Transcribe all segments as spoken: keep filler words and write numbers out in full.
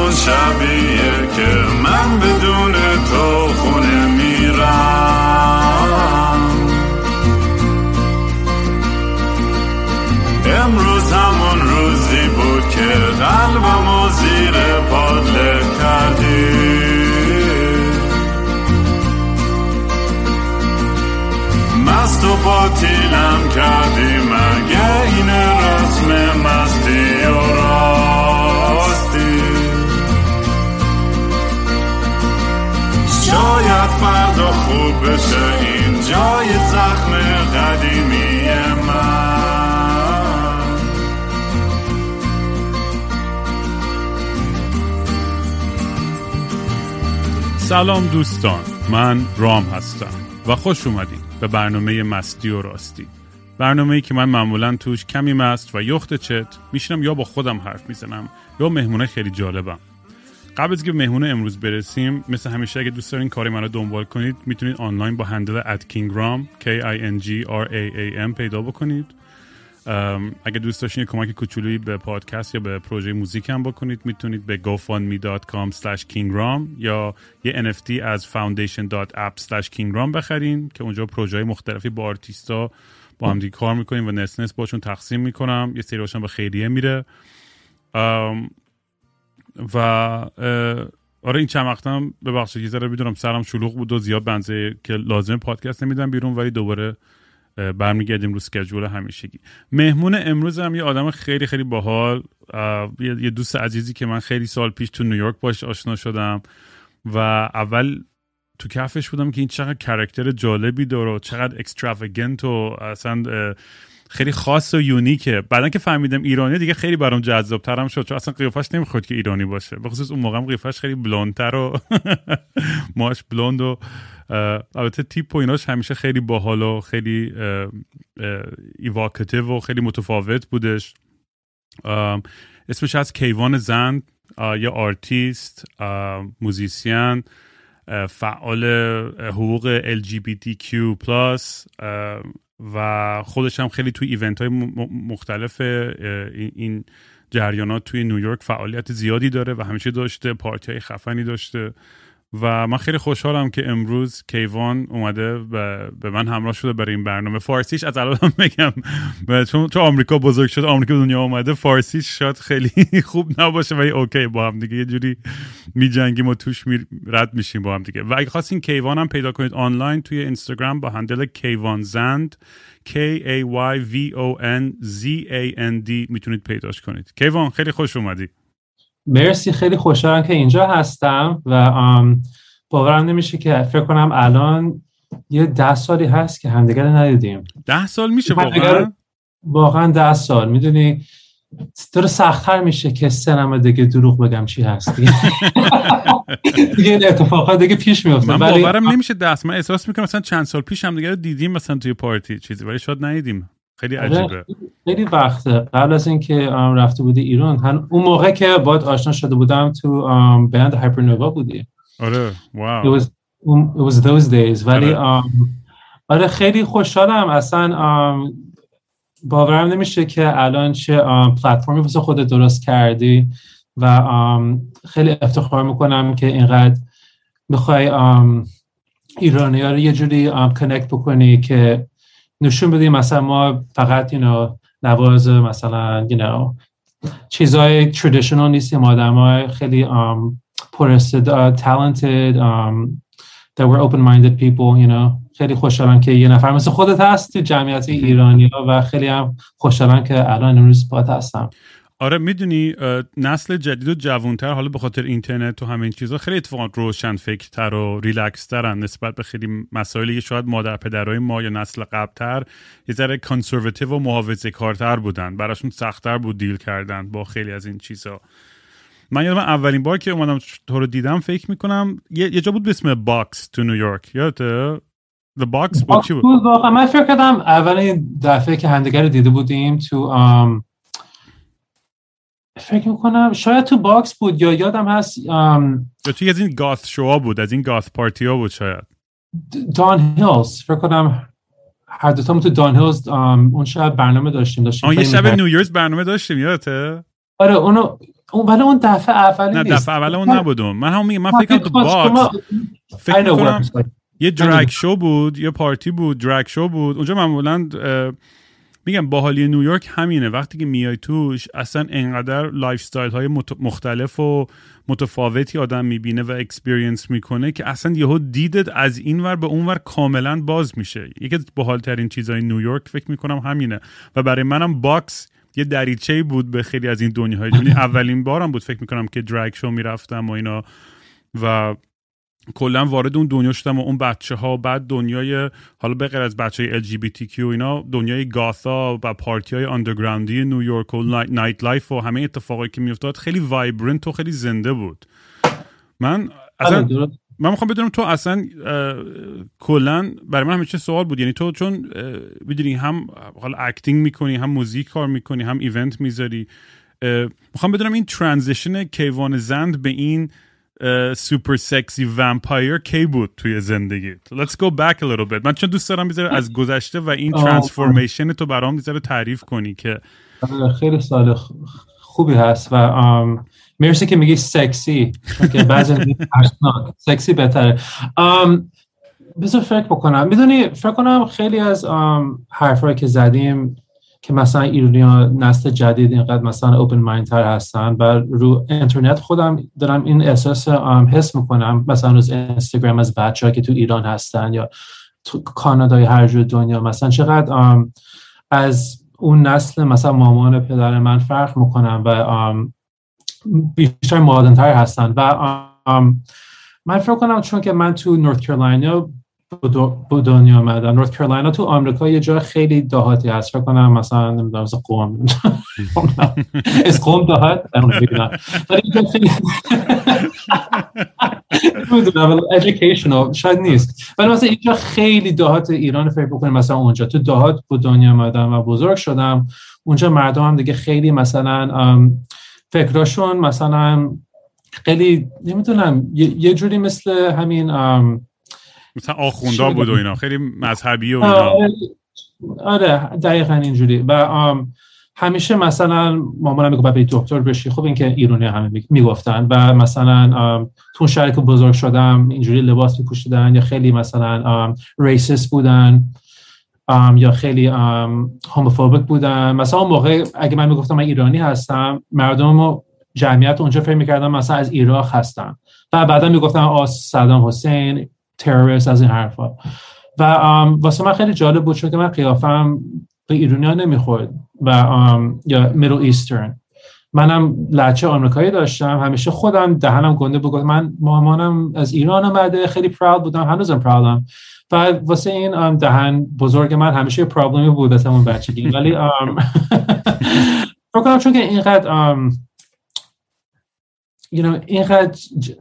اون شبیه که من بدون تو خونه میرم. امروز همون روزی بود که قلبمو زیر پات له کردی. مست و باطیلم کردی، مگه این رسم مستی و راستی؟ شاید فردا خوب بشه این جای زخم قدیمی من. سلام دوستان، من رام هستم و خوش اومدید به برنامه مستی و راستی. برنامه‌ای که من معمولاً توش کمی مست و یخت چت میشینم یا با خودم حرف میزنم یا مهمونه خیلی جالبم. قبل از که به مهمونه امروز برسیم، مثل همیشه اگه دوست دارین کاری منو دنبال کنید میتونید آنلاین با هندل ات kingram K I N G R A A M پیدا بکنید. اگه دوست داشتین کمک کوچولویی به پادکست یا به پروژه موزیکم بکنید میتونید به go fund me dot com slash kingram یا یه ان اف تی از foundation dot app slash kingram بخرین که اونجا پروژه‌های مختلفی با آرتیستا با هم دیگه کار میکنیم و نس نس باشون تقسیم میکنم. یه سری هاشون به خیریه میره و آره این چند وقتم ببخشید یه ذره میدونم سرم شلوغ بود و زیاد بنزه که لازمه پادکست نمیدم بیرون، ولی دوباره برمیگردیم رو اسکیجول همیشگی. مهمون امروز هم یه آدم خیلی خیلی باحال، یه دوست عزیزی که من خیلی سال پیش تو نیویورک باش آشنا شدم و اول تو کفش بودم که این چقدر کاراکتر جالبی داره و چقدر اکستراوگنت و اصلا خیلی خاص و یونیکه. بعدن که فهمیدم ایرانی دیگه خیلی برام جذاب‌ترم شد، چون اصلا قیافش نمیخورد که ایرانی باشه، به خصوص اون موقع قیافش خیلی بلوندتر و ماش بلوند و البته تیپ و ایناش همیشه خیلی باحال و خیلی ایواکتیو و خیلی متفاوت بودش. اسمش از کیوان زند، یه آرتیست، موزیسین، فعال حقوق ال جی بی تی کیو پلاس و خودش هم خیلی توی ایونت های مختلف این جریانات توی نیویورک فعالیت زیادی داره و همیشه داشته، پارتی های خفنی داشته و من خیلی خوشحالم که امروز کیوان اومده به من همراه شده برای این برنامه. فارسیش از الان بگم چون تو آمریکا بزرگ شده، آمریکا به دنیا اومده، فارسیش شاید خیلی خوب نباشه ولی اوکی، با هم دیگه یه جوری می جنگیم و توش می رد میشیم با هم دیگه. و اگه خواستین کیوان هم پیدا کنید آنلاین توی اینستاگرام با هندل کیوان زند K A Y V O N Z A N D میتونید پیداش کنید. کیوان خیلی خوش اومدی. مرسی، خیلی خوشحالم که اینجا هستم و باورم نمیشه که فکر کنم الان یه ده سالی هست که همدیگر رو ندیدیم. ده سال میشه واقعا؟ واقعا ده سال. میدونی داره سخت‌تر میشه که سنم دیگه دروغ بگم چی هست دیگه. دیگه این اتفاقات دیگه پیش میفته. من باورم نمیشه ده سال. من احساس میکنم مثلا چند سال پیش همدیگر رو دیدیم مثلا توی پارتی چیزی، ولی شاید ندیدیم. خیلی عجیبه. خیلی وقته قبل از اینکه رفته بودی ایران، اون موقع که باهات آشنا شده بودم تو بند هایپرنووا بودی. آره واو. It was it was those days. ولی آره خیلی خوشحالم. اصلا باورم نمیشه که الان چه پلتفرمی واسه خودت درست کردی و خیلی افتخار میکنم که اینقدر میخوای ایرانی‌ها رو یه جوری کانکت بکنی که نشون بدیم مثلا ما فقط you know نواز مثلا you know چیزای traditional نیستیم، آدمای خیلی um, پرستعداد talented um, that we're open-minded people you know. خیلی خوشحالم که یه نفر مثل خودت هست تو جمعیت ایرانی‌ها و خیلی هم خوشحالم که الان امروز باهات هستم. آره میدونی نسل جدید و جوانتر حالا به خاطر اینترنت و همین چیزا خیلی اتفاقا روشن فکرتر و ریلکس ترن نسبت به خیلی مسائلی که شاید مادر پدرای ما یا نسل قبلتر یه ذره کانسرواتیو و محافظه‌کارتر بودن، براشون سخت‌تر بود دیل کردن با خیلی از این چیزا. من یادم اولین بار که اومدم تو رو دیدم فکر میکنم یه, یه جا بود به اسم باکس تو نیویورک، یادته؟ The Box بود چی بود؟ واقعا من فکر کردم اولین دفعه که همدیگر رو دیده بودیم تو um, فکر میکنم شاید تو باکس بود یا یادم هست um, یا توی از این گاث شوها بود، از این گاث پارتی ها بود شاید. دان هیلز فکر کنم هر دوتامون تو دان هیلز um, اون شب برنامه داشتیم داشتیم آن یه شب نیو ایرز برنامه داشتیم یادته؟ آره اونو اون ولی اون دفعه اولی نه نیست. دفعه اول اون نبودم. من هم میگم من فکر کنم تو باکس فکر میکنم یه درگ شو بود، یه پارتی بود، درگ شو بود اونجا. معمولا میگم باحالی نیویورک همینه، وقتی که میای توش اصلا انقدر لایف استایل های مختلف و متفاوتی آدم میبینه و اکسپریانس میکنه که اصلا یهو دیدت از این ور به اون ور کاملا باز میشه. یکی از باحال ترین چیزای نیویورک فکر میکنم همینه و برای منم باکس یه دریچه‌ای بود به خیلی از این دنیاهای. یعنی اولین بارم بود فکر میکنم که درگ شو میرفتم و اینا و کلا وارد اون دنیا شدم و اون بچه ها، بعد دنیای حالا به غیر از بچه های ال جی بی تی کیو اینا، دنیای گاتا و پارتی های آندرگراندی نیویورک و نایت لایف و همه اتفاقایی که میافتاد خیلی وایبرنت و خیلی زنده بود. من اصلا من میخوام بدونم تو اصلا کلا برای من همیشه سوال بود، یعنی تو چون میدونی هم حالا اکتینگ میکنی، هم موزیک کار میکنی، هم ایونت میذاری، میخوام بدونم این ترانزیشن کیوان زند به این سوپر سکسی ومپایر کی بود توی زندگیت؟ Let's go back a little bit. من چون دوست دارم بذاره از گذشته و این ترانسفورمیشن تو برام بذاره تعریف کنی که خیلی سال خوبی هست و مرسی که میگی سکسی، چون که بعضی میگی ترسناک، سکسی بهتره. بذار فکر بکنم. میدونی فکر کنم خیلی از حرفایی که زدیم که مثلا ایرانی‌ها نسل جدید اینقدر مثلا اوپن مایند تر هستن و رو اینترنت خودم دارم این احساس حس میکنم، مثلا روز اینستاگرام از بچه‌ها که تو ایران هستن یا تو کانادا یا هر جای دنیا، مثلا چقدر از اون نسل مثلا مامان پدر من فرق میکنن و بیشتر مدرن تر هستن و من فکر کنم چون که من تو نورت کارولاینا به دنیا آمدم. نورت کارولاینا تو آمریکا یه جای خیلی دهاتی هست، فکر کنم مثلا نمیدونم از قوم از قوم دهات نمیدونم ولی یه خیلی نمیدونم educational شاید نیست، ولی مثلا اینجا خیلی دهات ایران فکر بکنیم. مثلا اونجا تو دهات به دنیا آمدم و بزرگ شدم. اونجا مردم هم دیگه خیلی مثلا فکراشون مثلا خیلی نمیدونم یه جوری مثل همین مثلا آخوندا بود و اینا، خیلی مذهبی و اینا. آره دقیقاً اینجوری. و همیشه مثلا مامانم میگه بابا دکتر بشی. خب این که ایرانی همه میگفتن و مثلا تو شهری که بزرگ شدم اینجوری لباس میپوشیدن یا خیلی مثلا ریسیست بودن یا خیلی هوموفوبیک بودن. مثلا اون موقع اگه من میگفتم من ایرانی هستم، مردم جمعیت اونجا فکر میکردن مثلا از عراق هستم و بعدا میگفتن آ صدام حسین تروریست از این حرفا. و واسه من خیلی جالب بود چون که من قیافم به ایرانی‌ها نمیخورد و یا میدل ایسترن. منم لهجه آمریکایی داشتم، همیشه خودم دهنم گنده بود. من مامانم از ایران اومده، خیلی پراود بودم، هنوزم پراودم و واسه این دهن بزرگ من همیشه پرابلمی بود از همون بچگی. ولی فکر کنم چون که اینقدر you know اینقدر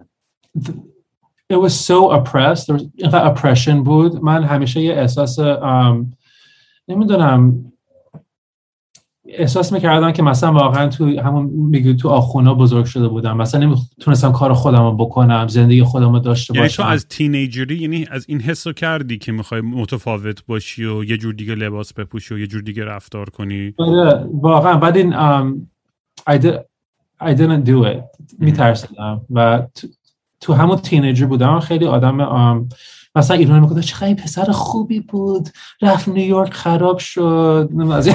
it was so oppressed, there was اینقدر oppression بود، من همیشه یه احساس نمیدونم احساس میکردم که مثلا واقعا تو همون میگه تو آخونا بزرگ شده بودم، مثلا نمیتونستم کار خودم رو بکنم، زندگی خودم رو داشته باشم. یعنی تو از تینیجری یعنی از این حسو کردی که میخوای متفاوت باشی و یه جور دیگه لباس بپوشی و یه جور دیگه رفتار کنی؟ آره واقعا. بعد این um, I, did, I didn't do it. میترسیدم و تو, تو همون تینیجر بودم خیلی آدم um, مثلا ایرانی میگفتن چقدر این پسر خوبی بود رفت نیویورک خراب شد.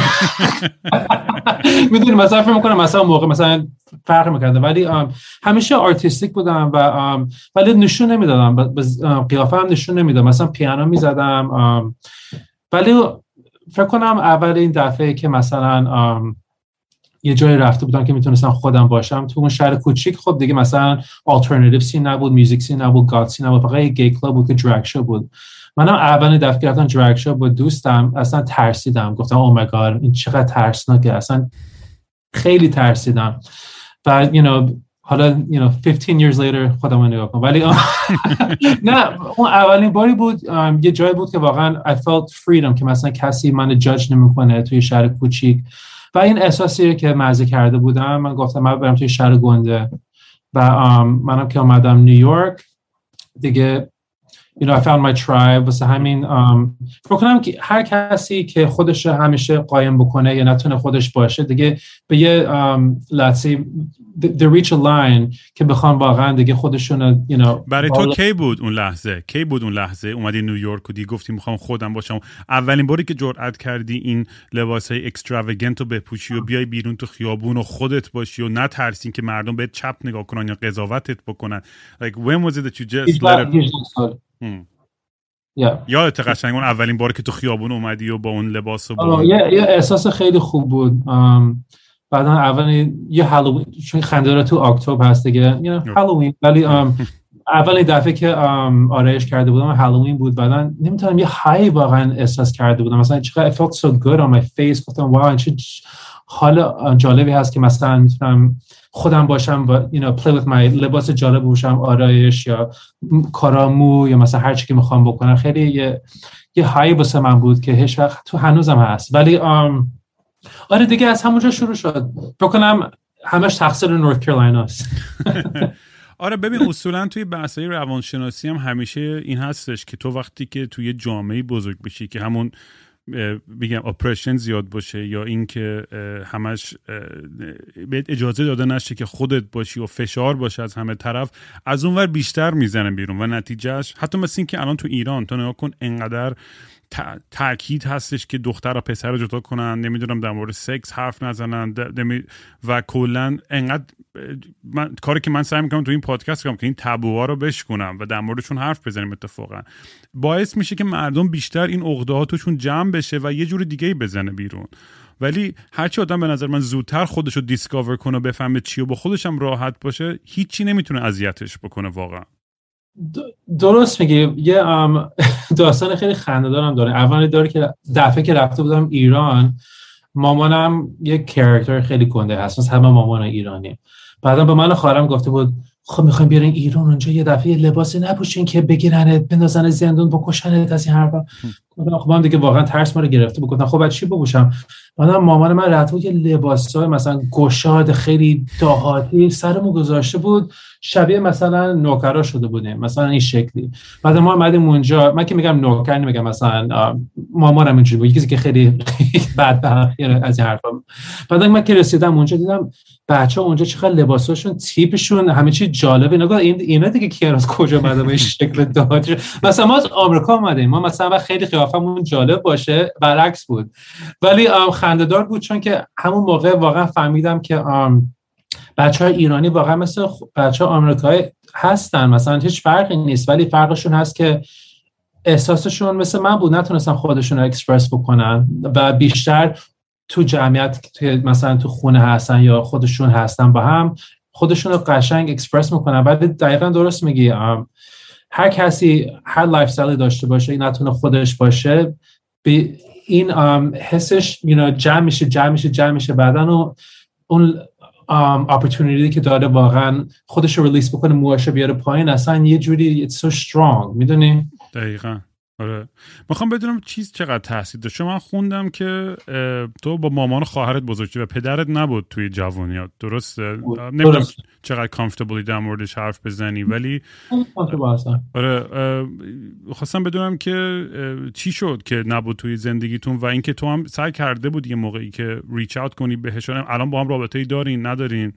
میدونی مثلا فکر میکنم مثلا موقع مثلا فرق میکرده، ولی همیشه آرتیستیک بودم و ولی نشون نمیدادم، قیافه هم نشون نمیدادم. مثلا پیانو میزدم ولی فکر کنم اول این دفعه که مثلا یه جایی رفته بودم که میتونستم خودم باشم تو اون شهر کوچیک. خب دیگه مثلا آلترناتیو سین نبود، میوزیک سین نبود، گات سین نبود، فقط یه گی کلاب بود که درگ شو بود. منم اولین دفعه که رفتم درگ شو با دوستم اصلا ترسیدم، گفتم او مای گاد این چقدر ترسناکه، اصلا خیلی ترسیدم. و you know حالا you know fifteen years later خودم رو نگاه کنم، ولی نه اون اولین باری بود یه جایی بود که واقعا I felt freedom که مثلا کسی منو جاج نمیکنه توی شهر کوچیک. و این احساسی که مزه کرده بودم، من گفتم من برم توی شهر گنده و منم که اومدم نیویورک دیگه you know I found my tribe. واسه همین فکر کنم که هر کسی که خودش همیشه قایم بکنه یا نتونه خودش باشه دیگه به یه let's say they reach a line که بخوان واقعا دیگه خودشون you know. برای تو کی بود اون لحظه؟ کی بود اون لحظه اومدی نیویورک و دیگه گفتی میخوام خودم باشم؟ اولین باری که جرأت کردی این لباسای اکستراوگنت رو بپوشی و بیای بیرون تو خیابون و خودت باشی و نترسین که مردم بهت چپ نگاه کنن یا قضاوتت بکنن. like when was it that you just let it yeah. یادت قشنگ اون اولین باری که تو خیابون اومدی و با اون لباس و با یه یه احساس خیلی خوب بود. بعدا اولین یه هالووین چون خنده‌دار تو اکتبر هست دیگه you know هالووین ولی اولین دفعه که آرایش کرده بودم هالووین بود. بعدا نمیتونم یه های واقعا احساس کرده بودم مثلا چقدر I felt so good on my face. گفتم واو چه حال جالبی هست که مثلا میتونم خودم باشم و you know play with my لباس جالب باشم آرایش یا کارامو یا مثلا هر چی که میخوام بکنم. خیلی یه یه های واسه من بود که هیچ وقت تو هنوزم هست. ولی آم آره دیگه از همونجا شروع شد. فکر کنم همش تقصیر نورث کارولاینا است. آره ببین اصولا توی بحثای روانشناسی هم همیشه این هستش که تو وقتی که توی جامعه بزرگ بشی که همون بگم اپریشن زیاد باشه یا این که همش بهت اجازه داده نشه که خودت باشی و فشار باشه از همه طرف، از اونور بیشتر میزنه بیرون و نتیجهش حتی مثل این که الان تو ایران تو نگاه کن انقدر تاکید هستش که دختر و پسر رو جدا کنن، نمیدونم در مورد سکس حرف نزنن و کلا انقدر من کاری که من سعی میکنم تو این پادکست کنم که این تابوها رو بشکنم و در موردشون حرف بزنیم اتفاقا باعث میشه که مردم بیشتر این عقده‌هاتشون جمع بشه و یه جور دیگه‌ای بزنه بیرون. ولی هرچی آدم به نظر من زودتر خودشو دیسکاور کنه و بفهمه چی و با خودش هم راحت باشه هیچی نمیتونه اذیتش بکنه واقعا. درست میگی. یه داستان خیلی خنده‌دارم داره. اولی داره که دفعه که رفته بودم ایران مامانم یک کاراکتر خیلی گنده هست مثل همه مامان ایرانی. بعدا به من و خواهرم گفته بود خب میخوایم بیارین ایران اونجا یه دفعه لباسی نپوشین که بگیرنت بندازن زندون بکشنت از این حرفا. خب من دیگه واقعا ترس ما رو گرفته بود. گفتم خب بعد چی بپوشم؟ بعدا مامان من رفته بود یه لباسای مثلا گشاد خیلی دهاتی سرمو گذاشته بود شبیه مثلا نوکرا شده بودیم مثلا این شکلی. بعد ما اومدیم اونجا، من که میگم نوکر نمیگم مثلا مامانم اینجوری بود یکی که خیلی بدبخت از این حرفا. بعد من که رسیدم اونجا دیدم بچه‌ها اونجا چقدر لباساشون تیپشون همه چی جالبه. نگاه این اینا دیگه کی از کجا اومده به این شکل دهاتی؟ مثلا ما از آمریکا اومدیم ما مثلا خیلی قیافمون جالب باشه برعکس بود. ولی خنده‌دار بود چون که همون موقع واقعا فهمیدم که بچه‌های ایرانی واقعا مثل بچه‌های آمریکایی هستن، مثلا هیچ فرقی نیست ولی فرقشون هست که احساسشون مثل من بود، نتونستن خودشون رو اکسپرس بکنن و بیشتر تو جمعیت مثلا تو خونه هستن یا خودشون هستن با هم خودشون رو قشنگ اکسپرس میکنن. ولی دقیقاً درست میگی هر کسی هر لایف استایلی داشته باشه این نتونه خودش باشه به این حسش you know, جمع میشه جمع میشه جمع میشه بعدن اون opportunity که داره واقعا خودش رو ریلیس بکنه موهاشو بیاره پایین اصلا یه جوری it's so strong. میدونی؟ دقیقاً. آره میخوام بدونم چیز چقدر تاثیر داشت. من خوندم که تو با مامان و خواهرت بزرگ شدی و پدرت نبود توی جوانیات، درسته؟ نمیدونم چقدر کامفتبلی در موردش حرف بزنی ولی آره خواستم بدونم که چی شد که نبود توی زندگیتون و اینکه تو هم سعی کرده بود یه موقعی که ریچ اوت کنی بهش. الان با هم رابطه‌ای دارین ندارین؟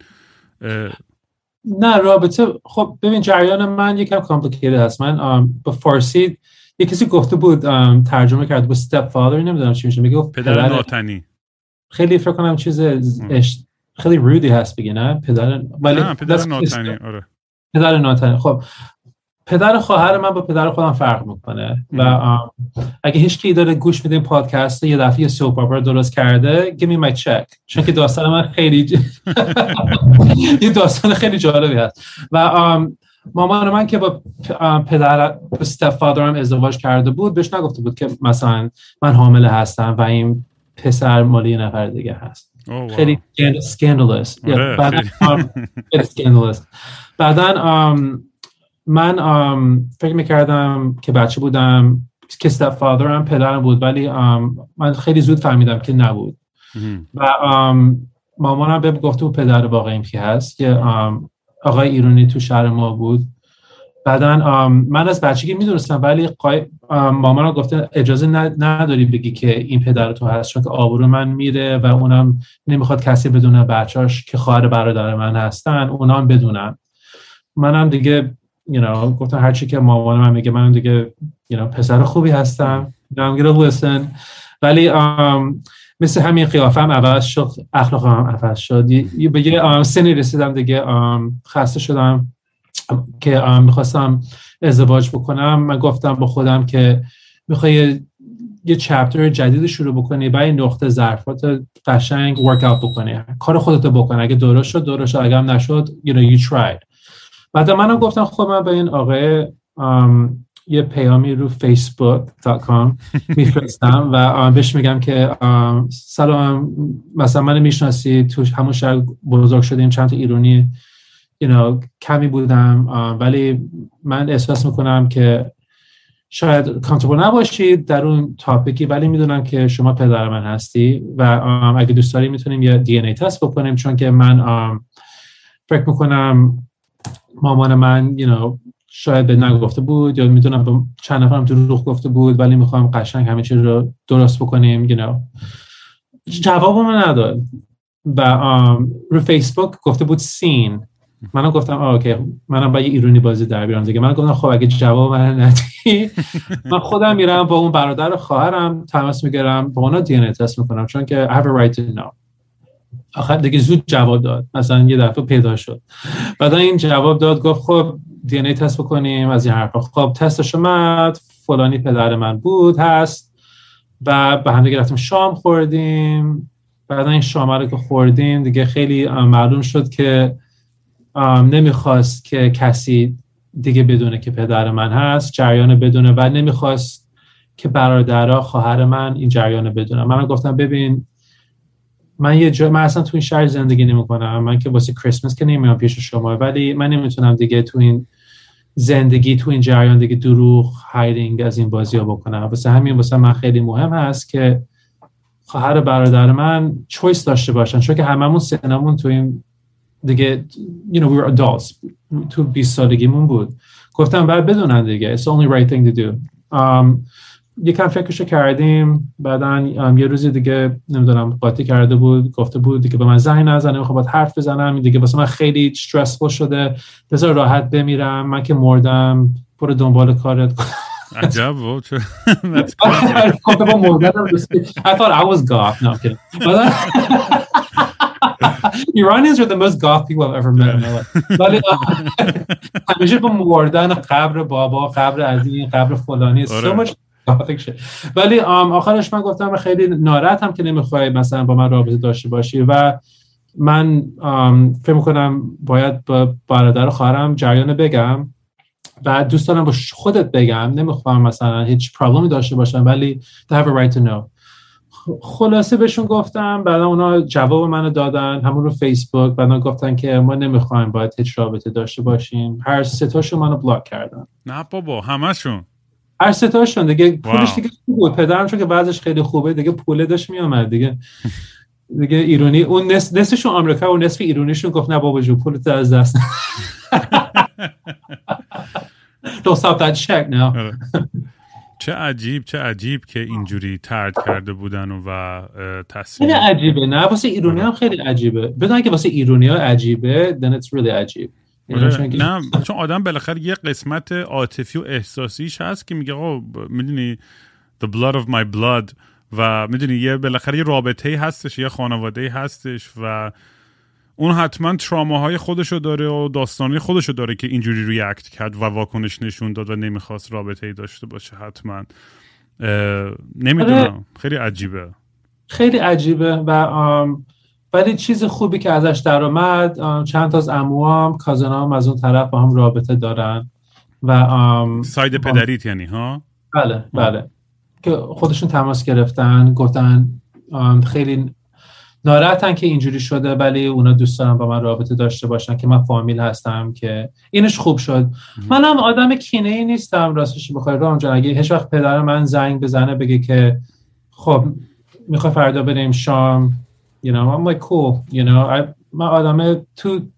نه رابطه خب ببین جریان من یکم کامپلیکیتد هست. من با فارسی یه کسی گفته بود ترجمه کرده بود step father نمیدونم چی میشه میگه پدر ناتنی. خیلی فکر کنم چیز اش... خیلی رودی هست بگی نه پدر ولی نه پدر ناتنی. آره پدر ناتنی. خب پدر خواهر من با پدر خودم فرق میکنه و اگه هیچ کی داره گوش میده این پادکست یه دفعه یه سوپ اپرا درست کرده give me my check چون که داستان من خیلی یه داستان خیلی جالبی هست. و مامان من که با پدر با step fatherم ازدواج کرده بود بهش نگفته بود که مثلا من حامله هستم و این پسر مال یه نفر دیگه هست. oh, wow. خیلی scandalous. بعدن scandalous. بعدن من فکر میکردم که بچه بودم که step fatherم پدرم بود ولی من خیلی زود فهمیدم که نبود. و مامانم بهم گفته بود پدر واقعیم کی هست که آقای ایرانی تو شهر ما بود بعدن من از بچگی میدونستم ولی مامانم گفته اجازه نداری بگی که این پدر تو هست، چون که آبرو من میره و اونم نمیخواد کسی بدونه، بچه‌اش که خواهر برادر من هستن اونام بدونن. منم دیگه you know گفتم هرچی که مامانم من میگه من دیگه you know پسر خوبی هستم، I'm gonna listen. ولی مثل همین قیافم عوض شد، اخلاقم عوض شد. به یه سنی رسیدم دیگه خسته شدم که میخواستم ازدواج بکنم. من گفتم با خودم که میخوای یه چپتر جدید شروع بکنی، برای نقطه ضعفات قشنگ ورک اوت بکنی، کار خودت بکن، اگه درست شد درست شد، اگه هم نشد you know you tried. بعد منم گفتم خب من به این آقای یه پیامی رو فیسبوک دات کام میفرستم و بهش میگم که سلام، مثلا من میشناسی، تو همون شهر بزرگ شدیم، چند تا ایرانی you know کمی بودم ولی من احساس میکنم که شاید کامفورتبل نباشید در اون تاپیکی، ولی میدونم که شما پدر من هستی و اگه دوست داری میتونیم یه دی ان ای تست بکنیم، چون که من فکر میکنم مامان من you know شاید به نگفته بود یا میدونم به چند نفرم دروغ گفته بود، ولی میخوام قشنگ همه چیز رو درست بکنیم you know. جواب من نداد و رو فیسبوک گفته بود سین. منم گفتم اوکی، منم با یه ایرانی بازی در بیارم دیگه. من گفتم خب اگه جواب من ندی من خودم میرم با اون برادر و خواهرم تماس میگیرم، با اونا دی ان ای تست میکنم، چون که I have a right to know. آخر دیگه زود جواب داد، مثلا یه دفعه پیدا شد. بعدا این جواب داد، گفت خب دی ان ای تست بکنیم از این حرفا. خب تستش اومد، فلانی پدر من بود هست و به هم دیگه رفتیم شام خوردیم. بعدا این شام رو که خوردیم دیگه خیلی معلوم شد که نمیخواست که کسی دیگه بدونه که پدر من هست، جریان بدونه، و نمیخواست که برادرها خواهر من این جریان بدونه. من گفتم ببین من یه جا من اصلا تو این شهر زندگی نمیکنم، من که واسه کریسمس که نمیام پیش شما، ولی من نمیتونم دیگه تو این زندگی تو این جریان دیگه دروغ هایدینگ از این بازی‌ها بکنم. واسه همین واسه من خیلی مهم هست که خواهر برادر من چویس داشته باشن، چون که هممون سنمون تو این دیگه you know we were adults تو بیست سالگیمون بود. گفتم بعد بدونن دیگه it's the only right thing to do. um, یکم فکرشو کردیم. بعدن um, یه روزی دیگه نمیدونم قاطی کرده بود، گفته بود دیگه به من زنگ نزنه، میخوام باهات حرف بزنم دیگه، واسه من خیلی استرسفول شده، بذار راحت بمیرم، من که مردم، برو دنبال کارت. عجب و چه گفته با مردم I thought I was goth. No, I'm kidding. Iranians are the most goth people I've ever met in my life. ولی همیشه با مردن قبر بابا، قبر عزیز، قبر فلانی so much gothic shit. ولی آخرش من گفتم خیلی ناراحتم که نمیخوای مثلا با من رابطه داشته باشی و من فکر میکنم باید با برادر خواهرم جریان بگم و دوست دارم با خودت بگم، نمیخوام مثلا هیچ پرابلمی داشته باشم ولی they have a right to know. خلاصه بهشون گفتم، بعدا اونا جواب منو دادن همون رو فیسبوک. بعدا گفتن که ما نمیخوایم باید هیچ رابطه داشته باشیم. هر سه تاشون منو بلاک کردن. نه بابا همشون، هر سه تاشون دیگه. پولش دیگه بود، پدرم چون که وضعش خیلی خوبه دیگه پوله داشت میومد دیگه دیگه ایرانی اون نصف نصفشون آمریکا و نصف ایرانیشون گفت نه بابا جو پولت از دست don't stop that check now. چه عجیب چه عجیب که اینجوری طرد کرده بودن و تصمیم. خیلی عجیبه نه؟ واسه ایرانی هم خیلی عجیبه. بدون که واسه ایرانی ها عجیبه then it's really عجیب. نه چون آدم بالاخره یه قسمت عاطفی و احساسیش هست که میگه آقا میدونی the blood of my blood و میدونی یه بالاخره یه رابطه‌ای هستش، یه خانواده‌ای هستش و اون حتما تراماهای خودشو داره و داستانی خودشو داره که اینجوری ریاکت کرد و واکنش نشون داد و نمیخواست رابطه‌ای داشته باشه. حتما نمیدونم، خیلی عجیبه خیلی عجیبه و ولی چیز خوبی که ازش در اومد، چند تا از عموام کازنام از اون طرف با هم رابطه دارن و ساید پدریت یعنی ها؟ بله بله که خودشون تماس گرفتن، گفتن خیلی ناراحتن که اینجوری شده ولی اونا دوست دارن با من رابطه داشته باشن که من فامیل هستم، که اینش خوب شد. منم آدم کینه‌ای نیستم راستش بخوای رام جان. اگه هیچ وقت پدر من زنگ بزنه بگه که خب میخوای فردا بریم شام you know I'm like cool you know I من آدم تو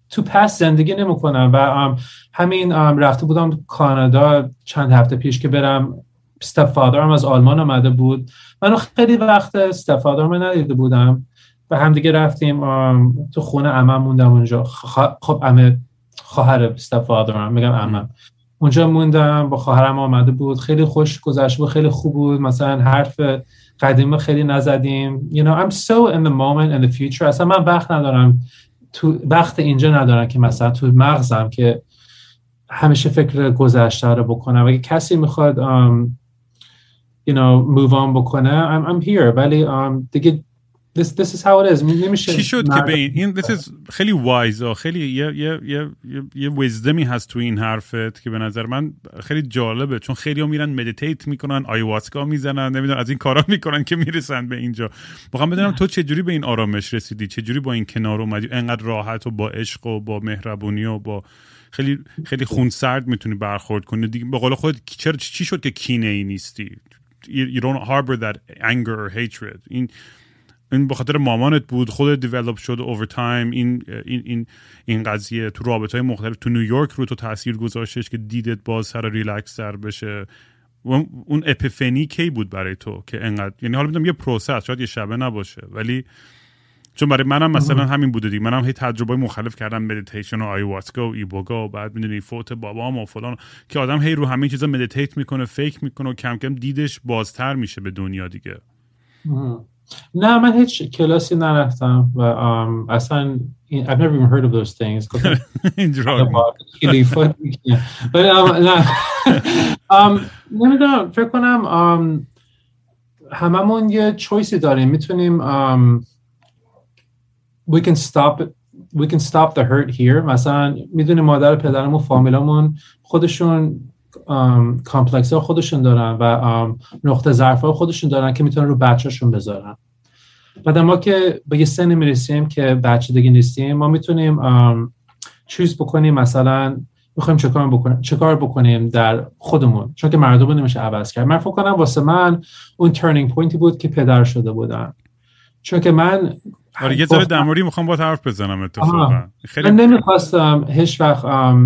تو پس زندگی نمیکنم و همین رفته بودم کانادا چند هفته پیش که برم. استپ فادرم از آلمان آمده بود، منو خیلی وقت استپ فادرم ندیده بودم و هم دیگه رفتیم تو خونه عمم موندم اونجا. خب عمه خواهر استپ فادرم، میگم عمم، اونجا موندم با خواهرم آمده بود، خیلی خوش گذشت بود، خیلی خوب بود. مثلا حرف قدیمی خیلی نزدیم. you know I'm so in the moment and the future. اصلا من وقت ندارم تو وقت اینجا ندارم که مثلا تو مغزم که همیشه فکر گذشته رو بکنم. اگه کسی میخواد um, you know move on بکنه I'm, I'm here. ولی um, دیگه this, this is how it is. نمیشه چی شد که به این این this is خیلی wise ها، خیلی یه یه یه یه ویزدمی هست تو این حرفت که به نظر من خیلی جالبه، چون خیلی ها میرن مدیتیت میکنن، آیواسکا میزنن، نمیدونم از این کارا میکنن که میرسن به اینجا. میخوام بدونم تو چه جوری به این آرامش رسیدی، چه جوری با این کنار اومدی، انقدر راحت و با عشق و با مهربونی و با خیلی خیلی خونسرد میتونی برخورد کنی دیگه. به قول خودت چرا چی شد که کینه ای نیستی؟ you don't harbor that anger or hatred. این این به خاطر مامانت بود، خودت دیولپ شد اوور تایم. این این این این قضیه تو رابطه‌های مختلف تو نیویورک رو تو تاثیر گذاشتش که دیدت باز سر ریلکس تر بشه. اون اپیفنی کی بود برای تو که انقدر، یعنی حالا میگم یه پروسس، شاید یه شبه نباشه، ولی چون برای منم مثلا همین بوده دیگه. منم هی تجربه مختلف کردم، مدیتیشن و آیواسکا و ایبوگا و بعد میدونی فوت بابام و فلان، که آدم هی رو همین چیزا مدیتیت میکنه، فکر میکنه و کم کم دیدش بازتر میشه به دنیا دیگه. نه من هیچ کلاسی نرفتم و um, اصلا I've never even heard of those things. ولی نه نمیدونم، فکر کنم um, هممون یه چویسی داریم، میتونیم um, we can stop it. we can stop the hurt here. مثلا میدونی مادر پدرمون فامیلامون خودشون کامپلکس ها خودشون دارن و نقطه ضعف ها خودشون دارن که میتونن رو بچه‌شون بذارن. بعد ما که به یه سن میرسیم که بچه دیگه نیستیم، ما میتونیم چوز بکنیم مثلا میخوایم چه کار بکنیم چه کار بکنیم در خودمون، چون که مردم نمیشه عوض کرد. من فکر کنم واسه من اون ترنینگ پوینتی بود که پدر شده بودم، چون که من آره یه ذره در موردی میخوام با حرف بزنم. اتفاقا خیلی من نمیخواستم هیچ وقت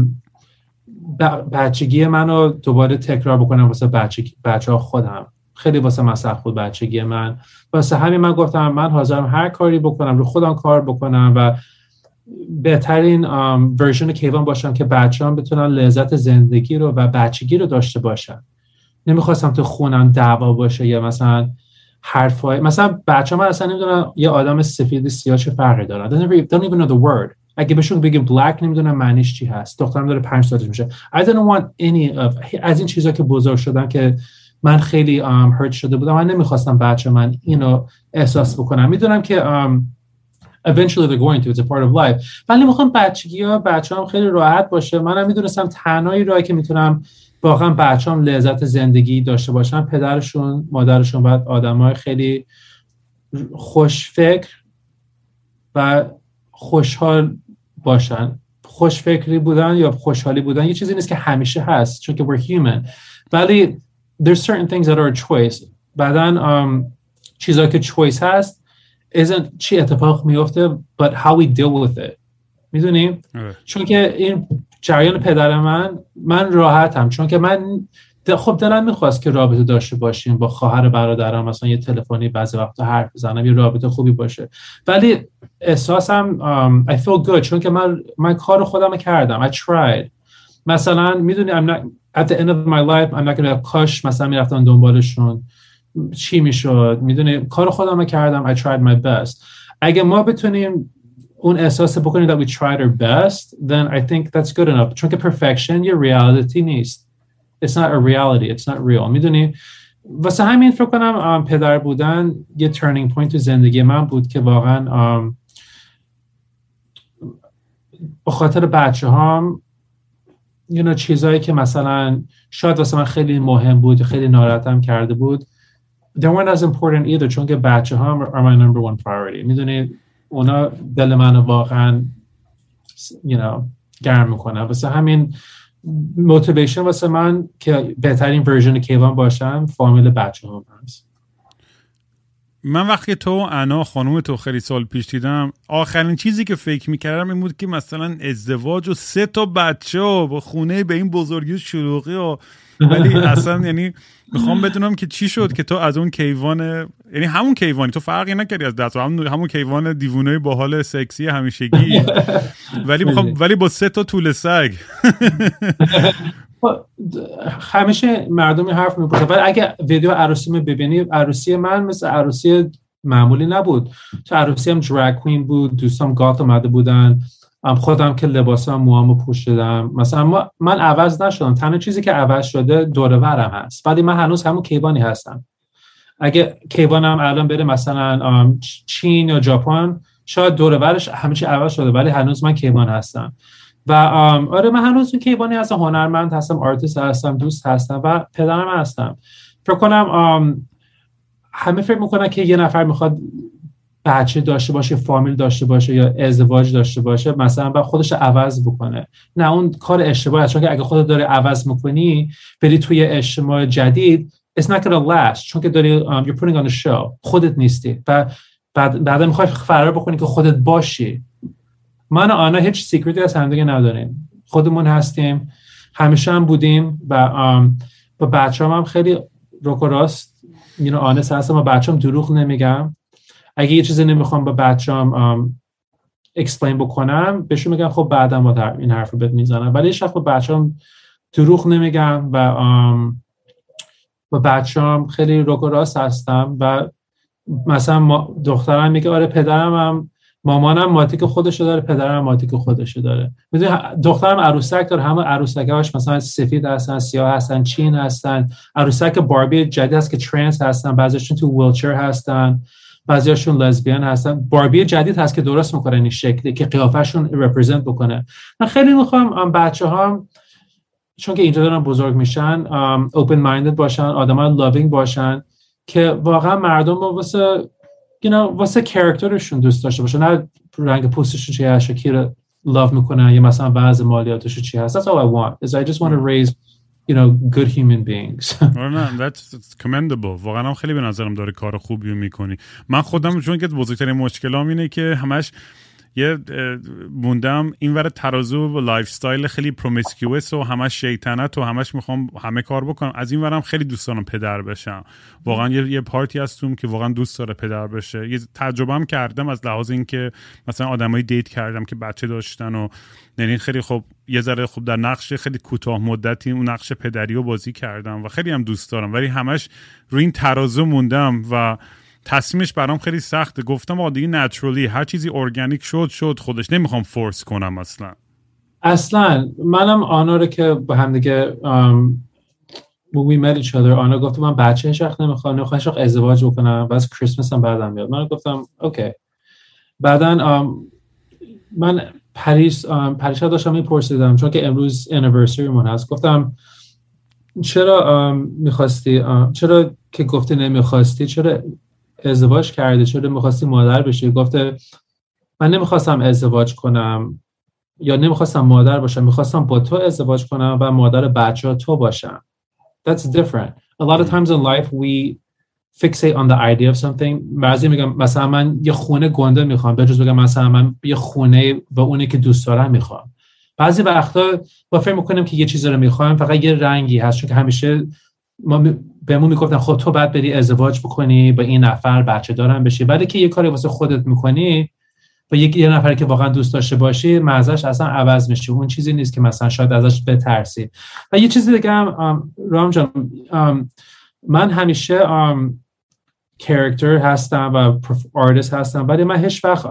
بچگی منو دوباره تکرار بکنم واسه بچه بچه‌ها خودم. خیلی واسه من سخت بود بچگی من، واسه همین من گفتم من حاضرم هر کاری بکنم، رو خودم کار بکنم و بهترین ورژن کیوان باشم که بچه‌ام بتونن لذت زندگی رو و بچگی رو داشته باشن. نمیخواستم تو خونم دعوا باشه یا مثلا حرفای مثلا بچه‌ها من اصلا نمیدونن یه آدم سفید سیاه چه فرقی داره. They don't even know the word. اگه بهشون بگیم black نمیدونم معنیش چی هست. دخترم داره پنج سالش میشه. I didn't want any of از این چیزا که بزرگ شدم که من خیلی um, hurt شده بودم. من نمیخواستم بچه من اینو احساس بکنم. میدونم که um, eventually they're going to, it's a part of life. ولی میخوام بچگی‌ها بچه‌ام خیلی راحت باشه. منم میدونستم تنهایی راهی که میتونم واقعا بچه‌ام لذت زندگی داشته باشن پدرشون مادرشون بعد آدمای خیلی خوش فکر و خوشحال باشن. خوش فکری بودن یا خوشحالی بودن یه چیزی نیست که همیشه هست، چون که we're human. ولی there's certain things that are a choice. بعدن um, چیزایی که choice هست isn't چی اتفاق میفته but how we deal with it. میدونیم؟ چون که این جریان پدر من من راحتم، چون که من خب دلم میخواست که رابطه داشته باشیم با خواهر برادرم، مثلا یه تلفنی بعضی وقتا حرف بزنم، یه رابطه خوبی باشه. ولی احساسم um, I feel good چون که من من کار خودم کردم. I tried. مثلا میدونی I'm not at the end of my life I'm not gonna کاش مثلا میرفتم دنبالشون چی میشد. میدونی کار خودم کردم. I tried my best. اگه ما بتونیم اون احساس بکنیم that we tried our best then I think that's good enough. چون که perfection یه reality نیست. It's not a reality. It's not real. میدونی واسه همین فکر کنم پدر بودن یه turning point تو زندگی من بود که واقعا به خاطر بچه هام you know, چیزایی که مثلا شاید واسه من خیلی مهم بود خیلی ناراحتم کرده بود they weren't as important either چون که بچه هام are my number one priority. میدونی اونا دل من واقعا you know, گرم میکنه. واسه همین موتیویشن واسه من که بهترین ورژن کیوان باشم فامیل بچه هم هست. من وقتی تو و انا خانم تو خیلی سال پیش دیدم، آخرین چیزی که فکر میکردم این بود که مثلا ازدواج و سه تا بچه و با خونه به این بزرگی و شلوغی و ولی اصلا یعنی میخوام بدونم که چی شد که تو از اون کیوان، یعنی همون کیوانی، تو فرقی نکردی از دست همون همون کیوان دیوونه با حال سکسی همیشگی ولی میخوام ولی با سه تا طول سگ. همیشه مردم حرف میپرسن ولی اگه ویدیو عروسی می ببینی، عروسی من مثل عروسی معمولی نبود. تو عروسی هم دراگ کوین بود، دوستام گات اومده بودن، خودم که لباسام موامو پوشیدم. مثلا ما من عوض نشدم، تنها چیزی که عوض شده دور و برم هست، ولی من هنوز همون کیوانی هستم. اگه کیوانم الان بره مثلا چین یا ژاپن، شاید دور و برش همه چی عوض شده ولی هنوز من کیوان هستم. و آره من هنوز کیوانی هستم، هنرمند هستم، آرتیست هستم، دوست هستم و پدرم هستم. فکر کنم همه فکر میکنن که یه نفر میخواد بچه داشته باشه، فامیل داشته باشه یا ازدواج داشته باشه مثلا با خودش عوض بکنه. نه، اون کار اشتباهه، چون که اگه خودت داری عوض میکنی بری توی اجتماع جدید it's not gonna last، چون که داری um, you're putting on a show، خودت نیستی و بعد بعدا میخوای فرار بکنی که خودت باشی. من و آنا هیچ سیکرتی از هم دیگه نداریم، خودمون هستیم، همیشه هم بودیم و um, با بچه‌ام هم خیلی روک و راست you know honest هستم. با بچه‌ام دروغ نمیگم. اگه یه چیزی نمیخوام با بچه‌ام um, explain بکنم بهشون میگم خب بعدا با این حرفو بهت میزنم، ولی هیچ وقت با بچه‌ام دروغ نمیگم و um, با بچه‌ام خیلی روک و راست هستم. و مثلا ما دخترم میگه آره پدرم هم مامانم ماتیک خودشو داره، پدرم ماتیک خودشو داره. میدونی دخترم عروسک داره، همه عروسکاش مثلا سفید هستن، سیاه هستن، چین هستن. عروسک باربی جدید هست که ترنس هستن، بعضیاشون تو ویلچر هستن، بعضیاشون لزبیان هستن. باربی جدید هست که درست میکنه این شکلی که قیافه‌شون رپرزنت بکنه. من خیلی میخوام بچه‌هام چون که اینجا دارن بزرگ میشن اوپن مایندد باشن، آدمای لاوینگ باشن که واقعا مردم رو واسه you know واسه کاراکترشون دوست داشته باشن، نه رنگ پوستشون چیه، شکیر لاو میکنن یا مثلا بعض مالیاتش چی هست. That's all I want is I just want to raise you know good human beings. نه that's commendable. واقعا هم خیلی به نظرم داره کار خوبی میکنی. من خودم چون که بزرگترین مشکلام اینه که همش یه موندم این ور ترازو و لایف استایل خیلی پرومیسکیوس و همش شیطنت و همش میخوام همه کار بکنم. از این ورم خیلی دوست دارم پدر بشم. واقعا یه, یه پارتی هستم که واقعا دوست داره پدر بشه. یه تجربه هم کردم از لحاظ این که مثلا آدمای دیت کردم که بچه داشتن و یعنی خیلی خوب یه ذره خوب در نقش خیلی کوتاه مدتی اون نقش پدری رو بازی کردم و خیلی هم دوست دارم، ولی همش روی این ترازو موندم و تصمیمش برام خیلی سخته. گفتم آقا دیگه نچرالی هر چیزی ارگانیک شد شد خودش، نمیخوام فورس کنم اصلا. اصلا منم آنا رو که با هم دیگه um, we met each other آنا گفت من بچه هیچ وقت نمیخوام نمیخوام هیچ وقت ازدواج بکنم و از کریسمس هم بعدم بیاد. من گفتم اوکی. بعدن um, من پریس um, پریشا داشتم میپرسیدم چون که امروز anniversary من هست، گفتم چرا um, میخواستی um, چرا که گفتی نمیخواستی چرا ازدواج کردی، چرا میخواستی مادر بشی؟ گفته من نمیخواستم ازدواج کنم یا نمیخواستم مادر باشم، میخواستم با تو ازدواج کنم و مادر بچه تو باشم. That's different. A lot of times in life we fixate on the idea of something. بعضی میگم مثلا من یه خونه گنده میخوام، به جز بگم مثلا من یه خونه با اونی که دوست دارم میخوام. بعضی وقتا با فکر میکنیم که یه چیزی رو میخوایم فقط یه رنگی هست، چون که همیشه ما بهمون میگفتن خب تو باید بری ازدواج بکنی با این نفر بچه دارن بشی، ولی که یه کاری واسه خودت میکنی با یک یه نفری که واقعا دوست داشته باشی مزهش اصلا عوض میشه. اون چیزی نیست که مثلا شاید ازش بترسی. و یه چیزی دیگه هم رام جان، من همیشه کاراکتر هستم و آرتیست هستم، ولی من هیچ وقت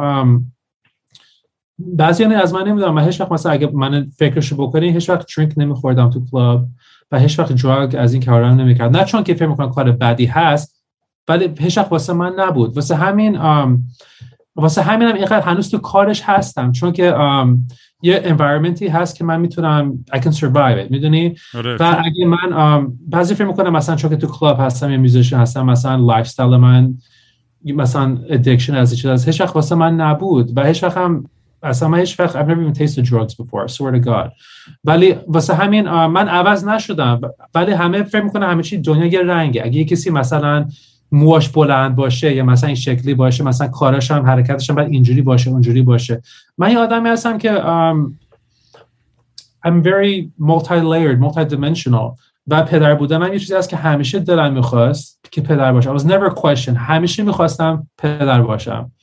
بعضی از من نمیدونم، من هیچ وقت مثلا اگه من فکرشو بکنی هیچ وقت درینک نمیخوردم تو کلاب و هیچ وقت دراگ از این کارا نمیکردم، نه چون که فکر میکنم کار بدی هست ولی هیچ وقت واسه من نبود. واسه همین آم واسه همینم اینقدر هنوز تو کارش هستم، چون که آم یه environmenتی هست که من میتونم I can survive it، میدونی؟ و اگه من آم بعضی فکر میکنم مثلا چون که تو کلاب هستم یا میوزیشن هستم مثلا لایف استایل من مثلا ادیکشن از چیز از هیچ وقت واسه من نبود و هیچ وقت هم اصلا من هیچ وقت I've never even tasted drugs before, I swear to God. ولی واسه همین من عوض نشدم، ولی همه فکر میکنن همه چی دنیا یه رنگه. اگه یه کسی مثلا موهاش بلند باشه یا مثلا این شکلی باشه، مثلا کاراش هم حرکتش هم باید اینجوری باشه اونجوری باشه. من یه آدمی هستم که um, I'm very multi-layered, multi-dimensional و پدر بودنم یه چیزی هست که همیشه دلم میخواست که پدر باشم. I was never a question. همیشه میخواستم پدر باشم.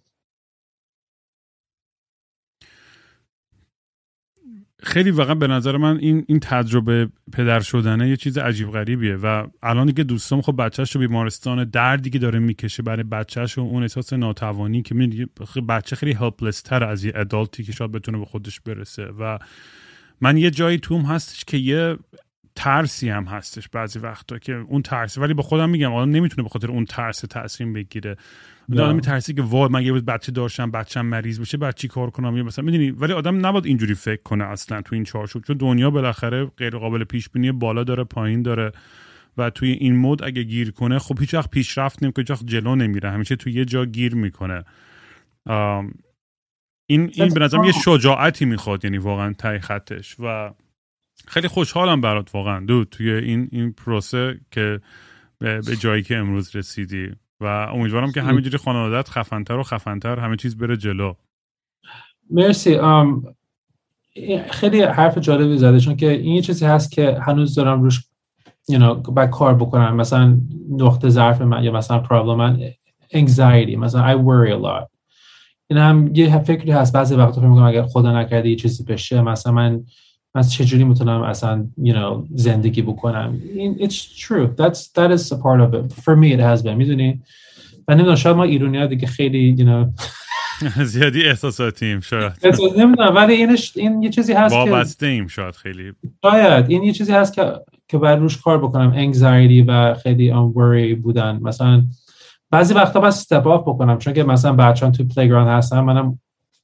خیلی واقعا به نظر من این این تجربه پدر شدنه یه چیز عجیب غریبیه و الان دیگه دوستام خب بچه‌ش رو بیمارستان، دردی که داره میکشه برای بچه‌ش و اون احساس ناتوانی که می‌بینی بچه خیلی هلپلس تر از یه ادالتی که شاید بتونه به خودش برسه. و من یه جایی توم هستش که یه ترسی هم هستش بعضی وقتا که اون ترسی، ولی با خودم میگم آدم نمیتونه به خاطر اون ترس تصمیم بگیره. آدم میترسی که وای من یه روز بچه داشتم بچه‌م مریض بشه بعد چی کار کنم، یا مثلا میدونی. ولی آدم نباید اینجوری فکر کنه اصلا تو این چارچوب، چون دنیا بالاخره غیر قابل پیش بینی، بالا داره پایین داره و توی این مود اگه گیر کنه خب هیچ وقت پیشرفت نمیکنه، هیچ وقت جلو نمیره، همیشه توی یه جا گیر میکنه. این این به نظرم یه شجاعتی میخواد، یعنی واقعا ته خطش. و خیلی خوشحالم برات واقعا دو توی این این پروسه که به جایی که امروز رسیدی و امیدوارم که همینجوری خانواده‌ات خفن‌تر و خفن‌تر همه چیز بره جلو. مرسی. ام خیلی حرف جالبی زده، چون که این یه چیزی هست که هنوز دارم روش you know باید کار بکنم. مثلا نقطه ضعف من یا مثلا پرابلم من anxiety، مثلا I worry a lot. این هم یه فکری هست بعضی وقتا فکر می‌کنم اگر خدا نکرده یه چیزی بشه مثلا من من چجوری میتونم اصلا you know زندگی بکنم. It's true. That's that is a part of it. For me it has been. میدونی؟ و نمیدونم شاید ما ایرانی‌ها دیگه خیلی you know زیادی احساساتیم شاید. احساس نمیدونم، ولی اینش این یه چیزی هست که وابسته ایم شاید خیلی. شاید این یه چیزی هست که که باید روش کار بکنم. anxiety و خیلی on worry بودن. مثلا بعضی وقتا باید step off بکنم، چون که مثلا بچه‌ها تو پلیگراند هستن، منم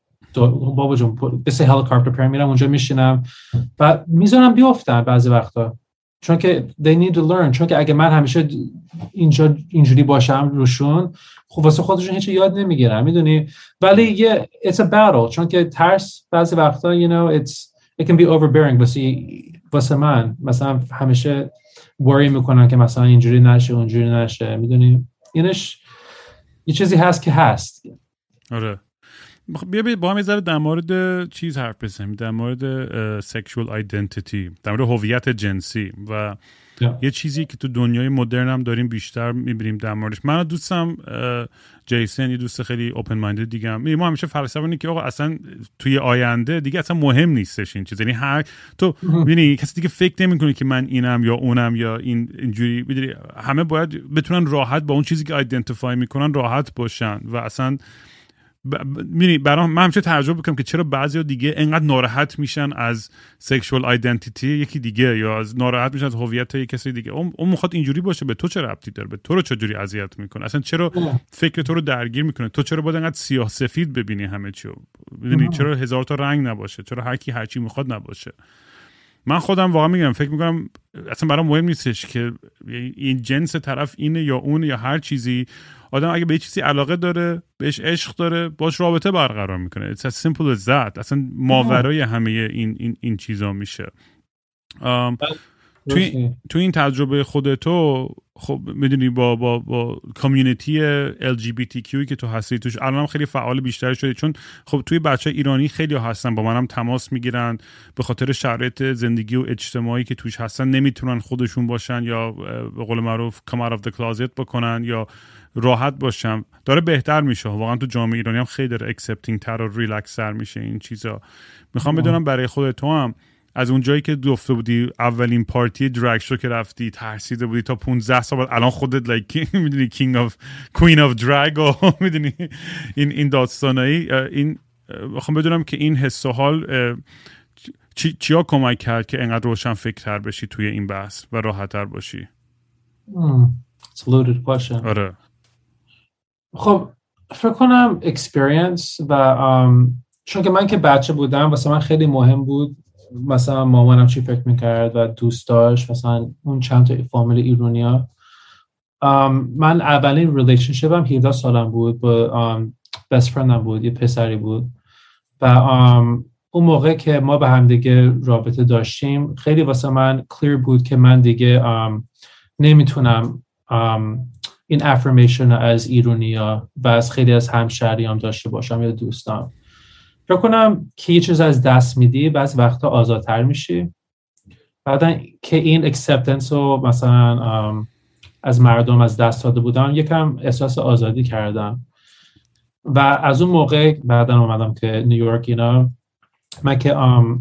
بابا جون بس هلیکوپتر پر میرم اونجا میشینم و میذارم بیافتن بعضی وقتا، چون که they need to learn. چون که اگه من همیشه اینجا اینجوری باشم روشون خب واسه خودشون هیچ یاد نمیگیرن، میدونی. ولی یه it's a battle، چون که ترس بعضی وقتا you know it's it can be overbearing. واسه واسه من مثلا همیشه worry میکنن که مثلا اینجوری نشه اونجوری نشه، میدونی. اینش یه چیزی هست که هست. آره بیا بیا با هم یه ذره در مورد چیز حرف بزنیم، در مورد سکشوال آیدنتیتی، در مورد هویت جنسی و yeah. یه چیزی که تو دنیای مدرن هم داریم بیشتر میبینیم در موردش. من دوستم جیسن، یه دوست خیلی اوپن مایندد دیگه هم، ما همیشه فلسفه اینه که آقا اصلا توی آینده دیگه اصلا مهم نیستش این چیز، یعنی هر تو ببینی کسی دیگه فکر نمیکنه که من اینم یا اونم یا این اینجوری، میدونی همه باید بتونن راحت با اون چیزی که آیدنتیفای میکنن راحت باشن و اصلا می‌بینی برام من همیشه تعجب میکنم که چرا بعضیا دیگه انقدر ناراحت میشن از سکشوال آیدنتیتی یکی دیگه یا از ناراحت میشن از هویت یک کسی دیگه. اون اون میخواد اینجوری باشه، به تو چه ربطی داره؟ به تو رو چجوری اذیت میکنه؟ اصلا چرا فکر تو رو درگیر میکنه؟ تو چرا باید انقدر سیاه سفید ببینی همه چی رو؟ میدونی چرا هزار تا رنگ نباشه؟ چرا هر کی هر چی میخواد نباشه؟ من خودم واقعا میگم فکر میکنم اصلا برام مهم نیستش که این جنس طرف اینه یا اون یا هر چیزی. آدم اگه به چیزی علاقه داره، بهش عشق داره، باش رابطه برقرار میکنه. It's as simple as that. اصلا ماورای همه این این این چیزا میشه. توی تو این تجربه خودتو خب میدونی با با با کامیونیتی ال جی بی تی کیو که تو هستی توش الانم خیلی فعال بیشتر شده، چون خب توی بچه ایرانی خیلی هستن با منم تماس میگیرن به خاطر شرایط زندگی و اجتماعی که توش هستن نمیتونن خودشون باشن یا به قول معروف come out of the closet بکنن یا راحت باشم. داره بهتر میشه واقعا تو جامعه ایرانی هم خیلی داره اکسپتینگ تر و ریلکس تر میشه این چیزا. میخوام بدونم برای خودت تو هم از اون جایی که گفته بودی اولین پارتی دراگ شو که رفتی ترسیده بودی تا پانزده سال الان خودت لایک میدونی کینگ اف کوین اف دراگ و میدونی این این داستانایی، این میخوام بدونم که این حس و حال چی چیا کمک کرد که انقدر روشن فکرتر بشی توی این بحث و راحت‌تر باشی؟ It's a loaded question. آره. خب فکر کنم experience و um, چون که من که بچه بودم واسه من خیلی مهم بود مثلا مامانم چی فکر میکرد و دوستاش مثلا اون چند تا فامیل ایرانیا. um, من اولین ریلیشنشیپم هفده سالم بود با um, best friendم بود، یه پسری بود و um, اون موقع که ما به هم دیگه رابطه داشتیم خیلی واسه من clear بود که من دیگه um, نمیتونم um, این افرمیشن از ایرانیا و از خیلی از همشهریام داشته باشم یا دوستام. فکر کنم که یه چیز از دست میدی بعض وقتا آزادتر میشی. بعدا که این اکسپتنس رو مثلا از مردم از دست داده بودم یکم احساس آزادی کردم و از اون موقع بعدا اومدم که نیویورک اینا من که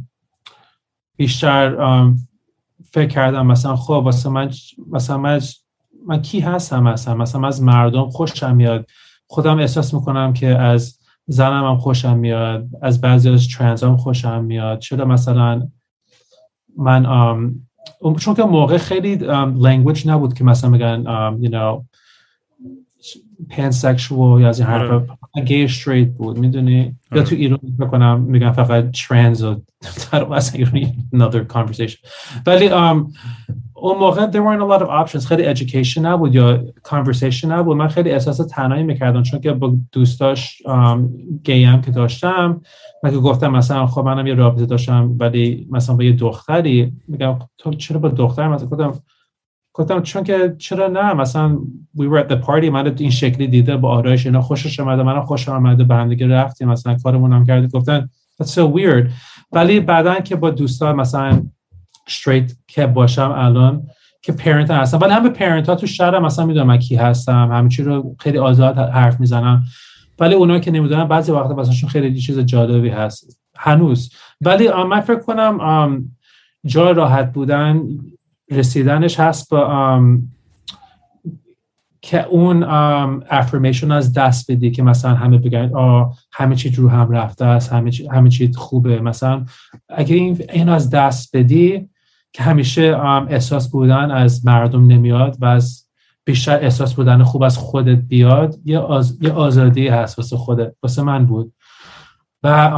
بیشتر فکر کردم مثلا خب واسه من مثلا من, من کی هستم مثلا مثلا از مردم خوشم میاد، خودم احساس میکنم که از زنم هم خوشم میاد، از بعضی از ترنس هم خوشم میاد. چرا مثلا من um, چون که موقع خیلی um, language نبود که مثلا بگن um, you know pansexual یا از این حرفا، gay straight بود میدونی. یا تو ایران بکنم میگن فقط trans و مثلا ایرانی another conversation. ولی um, اون موقع there weren't a lot of options. خیلی education نبود یا conversation نبود. من خیلی احساس تنهایی میکردم چون که با دوستاش گی هم که داشتم من که گفتم مثلا خب منم یه رابطه داشتم ولی مثلا با یه دختری، میگم تو چرا با دختر مثلا گفتم گفتم چون که چرا نه مثلا we were at the party من این شکلی دیده با آرایش اینا خوشش اومده منم خوشم اومده به هم دیگه رفتیم مثلا کارمون هم کردیم. گفتن that's so weird. ولی بعدن که با دوستا مثلا straight که باشم الان که پرنت هستم ولی همه پرنت ها تو شهرم مثلا میدونم من کی هستم، همه چی رو خیلی آزاد حرف میزنم، ولی اونایی که نمیدونن بعضی وقتا واسهشون خیلی چیز جالبی هست هنوز. ولی من فکر کنم جای راحت بودن رسیدنش هست با که اون افرمیشن از دست بدی که مثلا همه بگن آه همه چی رو هم رفته است، همه چی همه چی خوبه. مثلا اگه این اینو از دست بدی که همیشه احساس بودن از مردم نمیاد و از بیشتر احساس بودن خوب از خودت بیاد، یه, آز... یه آزادی هست واسه خودت. واسه من بود و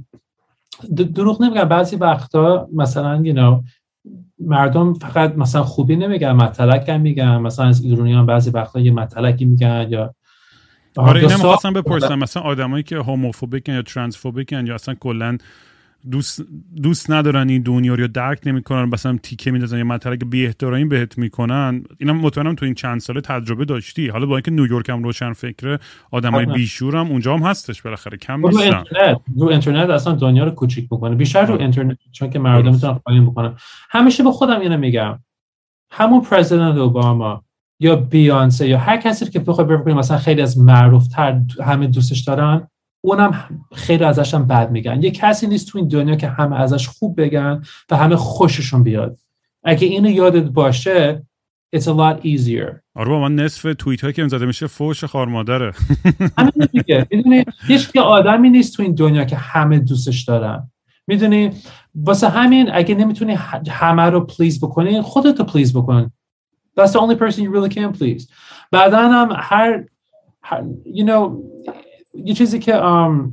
دروغ نمیگم بعضی وقتا مثلا you know مردم فقط مثلا خوبی نمیگن مطلق هم میگن، مثلا از ایرانیان بعضی وقتا یه مطلقی میگن یا آره اینم خواستم بپرسم مثلا آدمایی که هوموفوبیکن یا ترانسفوبیکن یا اصلا کلا دوست دوست ندارن این دنیا رو درک نمیکنن مثلا تیکه میندازن یا مطلق بی احترامی بهت میکنن. اینم مطمئنم تو این چند ساله تجربه داشتی. حالا با اینکه نیویورک هم روشن فکره آدمای بیشور هم اونجا هم هستش بالاخره کم نیستن. رو اینترنت رو اینترنت اصلا دنیا رو کوچیک میکنه بیشتر رو اینترنت چون که مردم میتونن قایم بکنن. همیشه به خودم اینو میگم همون پرزیدنت اوباما یا بیانسه یا هر کسی که بخواد ببینیم مثلا خیلی از معروف‌تر همه دوستش دارن اونم خیلی ازش هم بد میگن. یه کسی نیست تو این دنیا که همه ازش خوب بگن و همه خوششون بیاد. اگه اینو یادت باشه it's a lot easier. آره با من نصف توییت هایی که زده میشه فوش خار مادره. همین دیگه میدونی هیچ که آدمی نیست تو این دنیا که همه دوستش دارن. میدونی واسه همین اگه نمیتونی همه رو پلیز بکنی خودت رو پلیز بکن. That's the only person you really can please. بعداً هم هر, هر you know یه چیزی که um,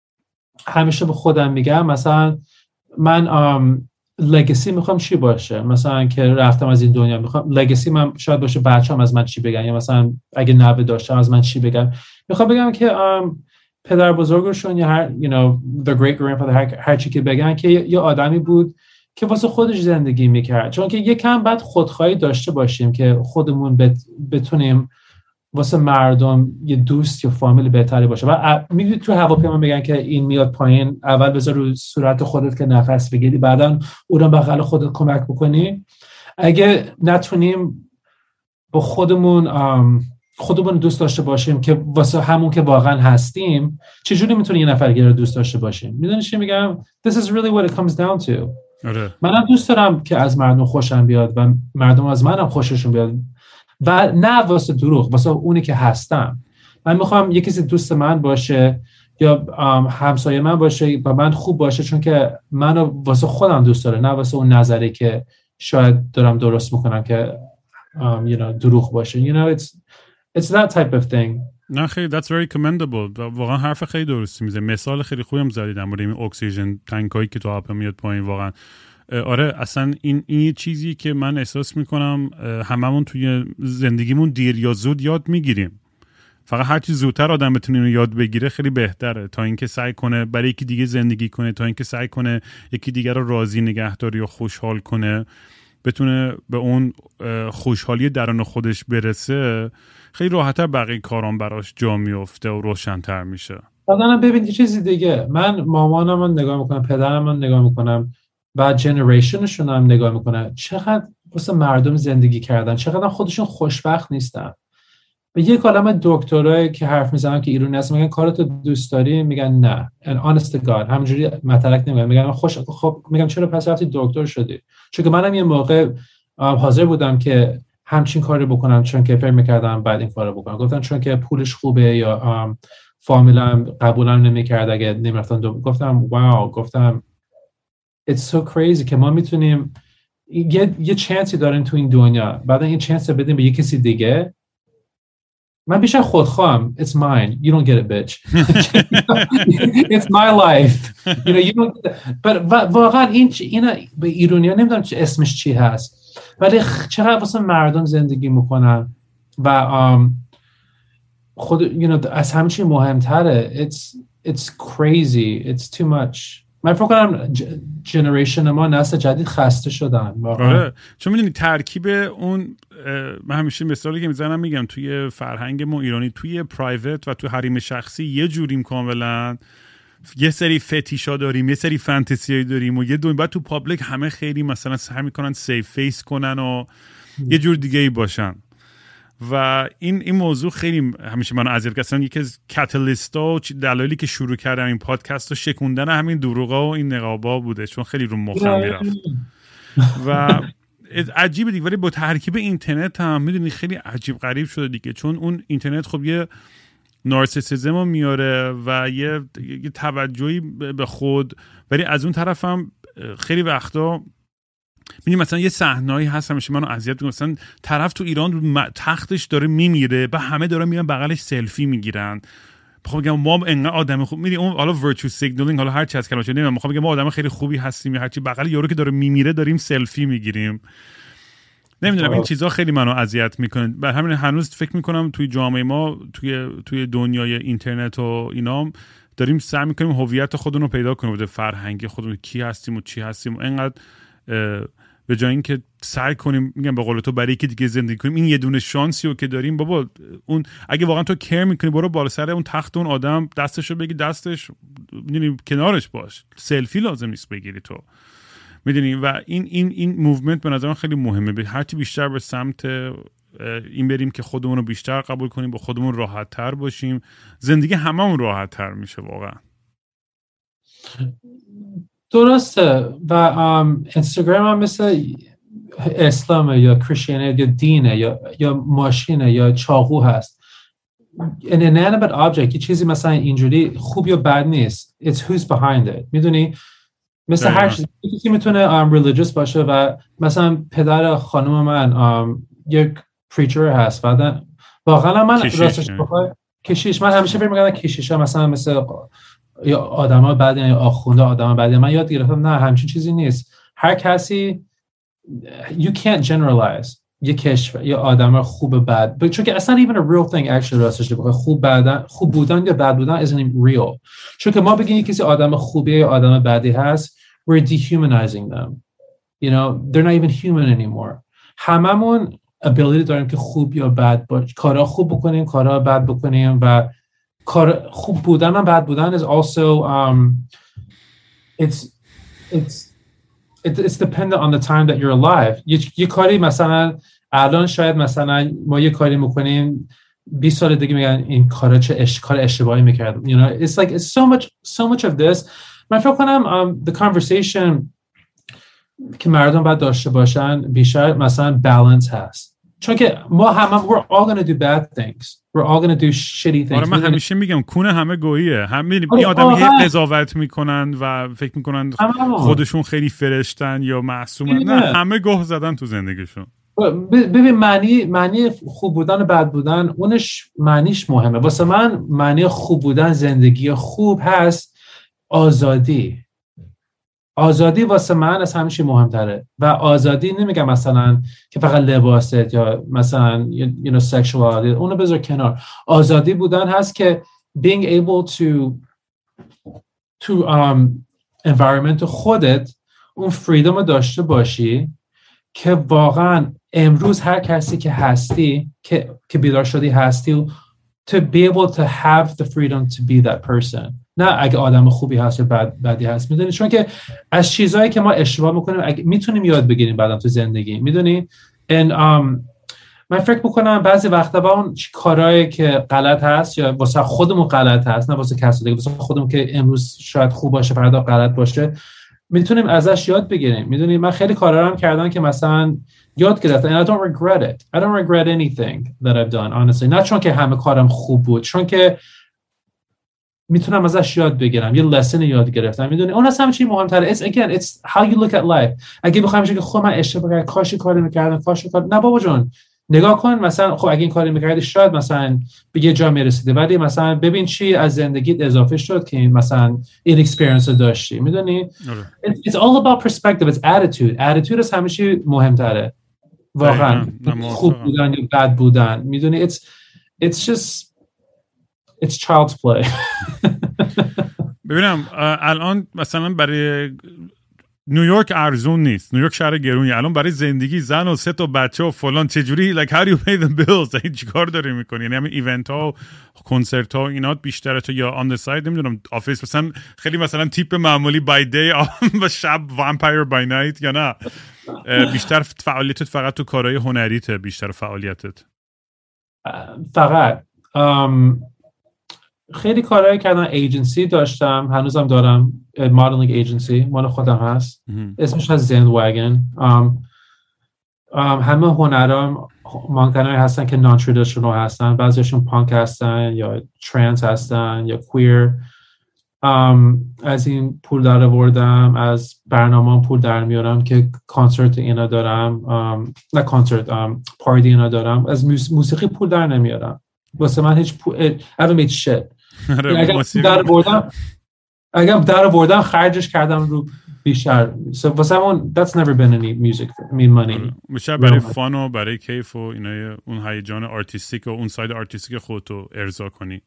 همیشه به خودم میگم مثلا من um, لگسی میخوام چی باشه، مثلا که رفتم از این دنیا میخوام لگسی من شاید باشه بچه‌ام از من چی بگن یا مثلا اگه نوه داشتم از من چی بگن. میخوام بگم که um, پدر بزرگشون یا هر you know the great grandfather هر, هر چی که بگن که یه آدمی بود که واسه خودش زندگی میکرد. چون که یکم بعد خودخواهی داشته باشیم که خودمون بت... بتونیم واسه مردم یه دوست یا فامیل بهتری باشه. و میگی تو هواپیما میگن که این میاد پایین اول بذار رو صورت خودت که نفس بگیری بعداً اونم بغل خودت کمک بکنی. اگه نتونیم با خودمون خودمون دوست داشته باشیم که واسه همون که واقعا هستیم چجوری میتونی یه نفر دیگه رو دوست داشته باشیم؟ میدونی چی میگم؟ This is really what it comes down to. منم دوست دارم که از مردم خوشم بیاد و مردم از منم خوششون بیاد و نه واسه دروغ واسه اونی که هستم. من میخوام یکی کسی دوست من باشه یا همسایه من باشه و من خوب باشه چون که منو واسه خودم دوست داره نه واسه اون نظری که شاید دارم درست میکنم که um, you know, دروغ باشه. You know it's it's that type of thing. نه خیلی that's very commendable. واقعا حرف خیلی درستی میزه. مثال خیلی خوبی هم زدید در مورد این اکسیژن تانکایی که تو آب میاد پایین. واقعا آره اصلا این این چیزی که من احساس میکنم هممون توی زندگیمون دیر یا زود یاد میگیریم. فقط هر چی زودتر آدم بتونه اینو یاد بگیره خیلی بهتره تا اینکه سعی کنه برای یکی دیگه زندگی کنه، تا اینکه سعی کنه یکی دیگه رو راضی نگه داره یا خوشحال کنه. بتونه به اون خوشحالی درون خودش برسه، خیلی راحت‌تر بقیه کارام براش جا میفته و روشن‌تر میشه. بعدن ببین یه چیزی دیگه، من مامانم رو نگاه میکنم، پدرم رو نگاه میکنم، بعد جنریشنشون هم نگاه میکنم، چقدر واسه مردم زندگی کردن، چقدر خودشون خوشبخت نیستن. به یک عالمه دکترایی که حرف میزنن که ایرانی هستن میگن کارتو دوست داری، میگن نه. and honest to God همینجوری مطلق نمیگن، میگن خوش خب میگم چرا پس رفتی دکتر شدی؟ چون که منم یه موقع حاضر بودم که همچین کاری بکنم چون که فکر میکردم بعد این کارو بکنم. گفتن چون که پولش خوبه یا فامیلم قبولم نمیکرد اگه نمیرفتم. گفتم واو، گفتم it's so crazy که ما میتونیم یه یه چانسی داریم تو این دنیا، بعد این چانس رو بدیم به یه کسی دیگه. من بیشتر خودخواهم. It's mine. You don't get it, bitch. It's my life. You know, you don't get it. But واقعا این اینا به ایرانی‌ها نمیدونم چه اسمش چی هست، ولی چقدر واسه مردم زندگی میکنن و خود you know از همه چی مهمتره. It's it's crazy. It's too much. من فکر کنم جنریشن ما نسل جدید خسته شدن. آره، چون میدونی ترکیب اون، من همیشه مثالی که میزنم میگم توی فرهنگ ما ایرانی، توی پرایوت و توی حریم شخصی یه جوریم کاملا، یه سری فتیشا داریم، یه سری فانتزیایی داریم و یه دو بعد تو پابلیک همه خیلی مثلا سعی میکنن سیف فیس کنن و یه جور دیگه ای باشن. و این این موضوع خیلی همیشه منو اذیت کرد. اصلا یکی از کاتالیستا و دلایلی که شروع کردم این پادکست رو شکوندن همین دروغا و این نقابا بوده، چون خیلی رو مخم میرفت و عجیبه دیگه. ولی با ترکیب اینترنت هم میدونی خیلی عجیب غریب شده دیگه، چون اون اینترنت خب یه نارسیسیسم رو میاره و یه, یه توجهی به خود، ولی از اون طرف هم خیلی وقتا می‌بینی مثلا یه صحنه‌ای هست همیشه منو اذیت می‌کنه، مثلا طرف تو ایران تختش داره میمیره، بعد همه دارن میرن بغلش سلفی میگیرن. میخوام بگم ما انقدر آدم خوب، می‌بینی اون حالا ورچو سیگنالینگ، حالا هر چی از کلمه نمیدونم، میخوام بگم ما آدم خیلی خوبی هستیم، هر چی بغل یارو که داره میمیره داریم سلفی میگیریم. نمیدونم این چیزا خیلی منو اذیت میکنه. به همین هنوز فکر میکنم توی جامعه ما، توی توی دنیای اینترنت و اینا، داریم سعی میکنیم هویت خودمون رو پیدا کنیم، بده فرهنگی خودمون کی هستیم و چی هستیم. اینقدر به جای اینکه سعی کنیم میگم به قول تو برای یکی دیگه زندگی کنیم، این یه دونه شانسی رو که داریم بابا، اون اگه واقعا تو کیر میکنی برو بالا سر اون تخت اون آدم دستشو بگی دستش، میدونی کنارش باش، سلفی لازم نیست بگیری تو، میدونی. و این این این موومنت به نظرم خیلی مهمه، به هرچی بیشتر به سمت این بریم که خودمون رو بیشتر قبول کنیم، با خودمون راحت تر باشیم، زندگی هممون راحت تر میشه واقعا. درسته. و اینستاگرام هم مثل اسلام یا کریستیانیت یا دینه یا یا ماشینه یا چاقو هست. an inanimate object، یه چیزی مثلا اینجوری خوب یا بد نیست. It's who's behind it. میدونی مثل هر چیزی که میتونه um, religious باشه و مثلا پدر خانم من um, یک preacher هست، بعد واقعا من راستش بخوای کشیش، من همیشه فکر می‌کردم کشیشا مثلا مثل یا آدما بعد یا آخونده آدما بعد، من یاد گرفتم نه همچین چیزی نیست. هر کسی you can't generalize یه کشور یا آدم خوب بد، چون که اصلا even a real thing actually راستش بخوای خوب بودن خوب بودن یا بد بودن isn't real. چون که ما بگیم یه کسی آدم خوبیه یا آدم بدی هست، we're dehumanizing them. You know, they're not even human anymore. هممون ability داریم که خوب یا بد باش، کارا خوب بکنیم، کارا بد بکنیم و کار خوب بودن و بد بودن is also um it's it's it's dependent on the time that you're alive. یه, یه کاری مثلا الان شاید مثلا ما یه کاری میکنیم بیست سال دیگه میگن این کارا چه اش... کار اشتباهی میکردم. You know, it's like it's so much so much of this. من فکر کنم um, the conversation که مردم باید داشته باشن بیشتر مثلا balance هست، چون که ما همه we're all going to do bad things, we're all going to do shitty things. آره من همیشه میگم کونه همه گوییه، همه این آدم که قضاوت میکنن و فکر میکنن خودشون خیلی فرشتن یا معصومن، نه همه گوه زدن تو زندگیشون. ببین معنی معنی خوب بودن و بد بودن اونش معنیش مهمه. واسه من معنی خوب بودن زندگی خوب هست آزادی. آزادی واسه من از همیشه مهمتره و آزادی نمیگم مثلا که فقط لباست یا مثلا you know sexuality، اونو بذار کنار. آزادی بودن هست که being able to to um environment خودت اون freedom رو داشته باشی که واقعا امروز هر کسی که هستی که که بیدار شدی هستی to be able to have the freedom to be that person. نه اگه آدم خوبی هست یا بد بدی هست، میدونی، چون که از چیزایی که ما اشتباه میکنیم اگه میتونیم یاد بگیریم بعدم تو زندگی، میدونی. and um, من فکر میکنم بعضی وقتا با اون کارهایی که غلط هست یا واسه خودمون غلط هست، نه واسه کسی دیگه، واسه خودمون که امروز شاید خوب باشه فردا غلط باشه، میتونیم ازش یاد بگیریم. میدونی من خیلی کارا رو کردم که مثلا یاد گرفتم and I don't regret it. I don't regret anything that I've done honestly. نه چون که همه کارم خوب بود، چون که میتونم ازش یاد بگیرم، یه لسن یاد گرفتم. میدونی اون اصلا چی مهمتره. It's again it's how you look at life. اگه بخوام بگم خب من اشتباه کردم، کاش کاری میکردم، کاش کار نه بابا جون، نگاه کن مثلا خب اگه این کاری میکردی شاید مثلا به یه جا میرسیدی، ولی مثلا ببین چی از زندگیت اضافه شد که مثلا این اکسپریانس رو داشتی. میدونی it's all about perspective. It's attitude. attitude از همه چی مهمتره واقعا، خوب بودن یا بد بودن. میدونی it's it's just it's child's play. ببینم الان مثلا برای نیویورک ارزون نیست، نیویورک شهر گرونیه، الان برای زندگی زن و سه تا بچه و فلان چجوری like how do you pay the bills؟ این چیکار داری میکنی؟ یعنی همین ایونت ها و کنسرت ها اینا بیشتره تو یا on the side نمیدونم آفیس مثلا خیلی مثلا تیپ معمولی by day و شب vampire by night یا نه بیشتر فعالیتت فقط تو کارهای هنریته؟ بیشتر فعالیتت فقط um... خیلی کارهایی کردم. ایجنسی داشتم، هنوزم دارم، مدلینگ ایجنسی مال خودم هست، اسمش هست زند واگن. همه هنرام مانکنایی هستن که نان ترادیشنال هستن، بعضیشون پانک هستن یا ترانس هستن یا کویر. از این پول در آوردم، از برنامه پول در میارم که کنسرت اینا دارم، نه کنسرت پارتی اینا دارم. از موسیقی پول در نمیارم، واسه من هیچ پول I haven't made shit. اگه در بردم اگه در بردم خرجش کردم رو بیشتر. so واسه من that's never been any music for me money. میشه برای فان و برای کیف و اینا اون هیجان آرتیستیک و اون ساید آرتیستیک خودتو ارضا کنی.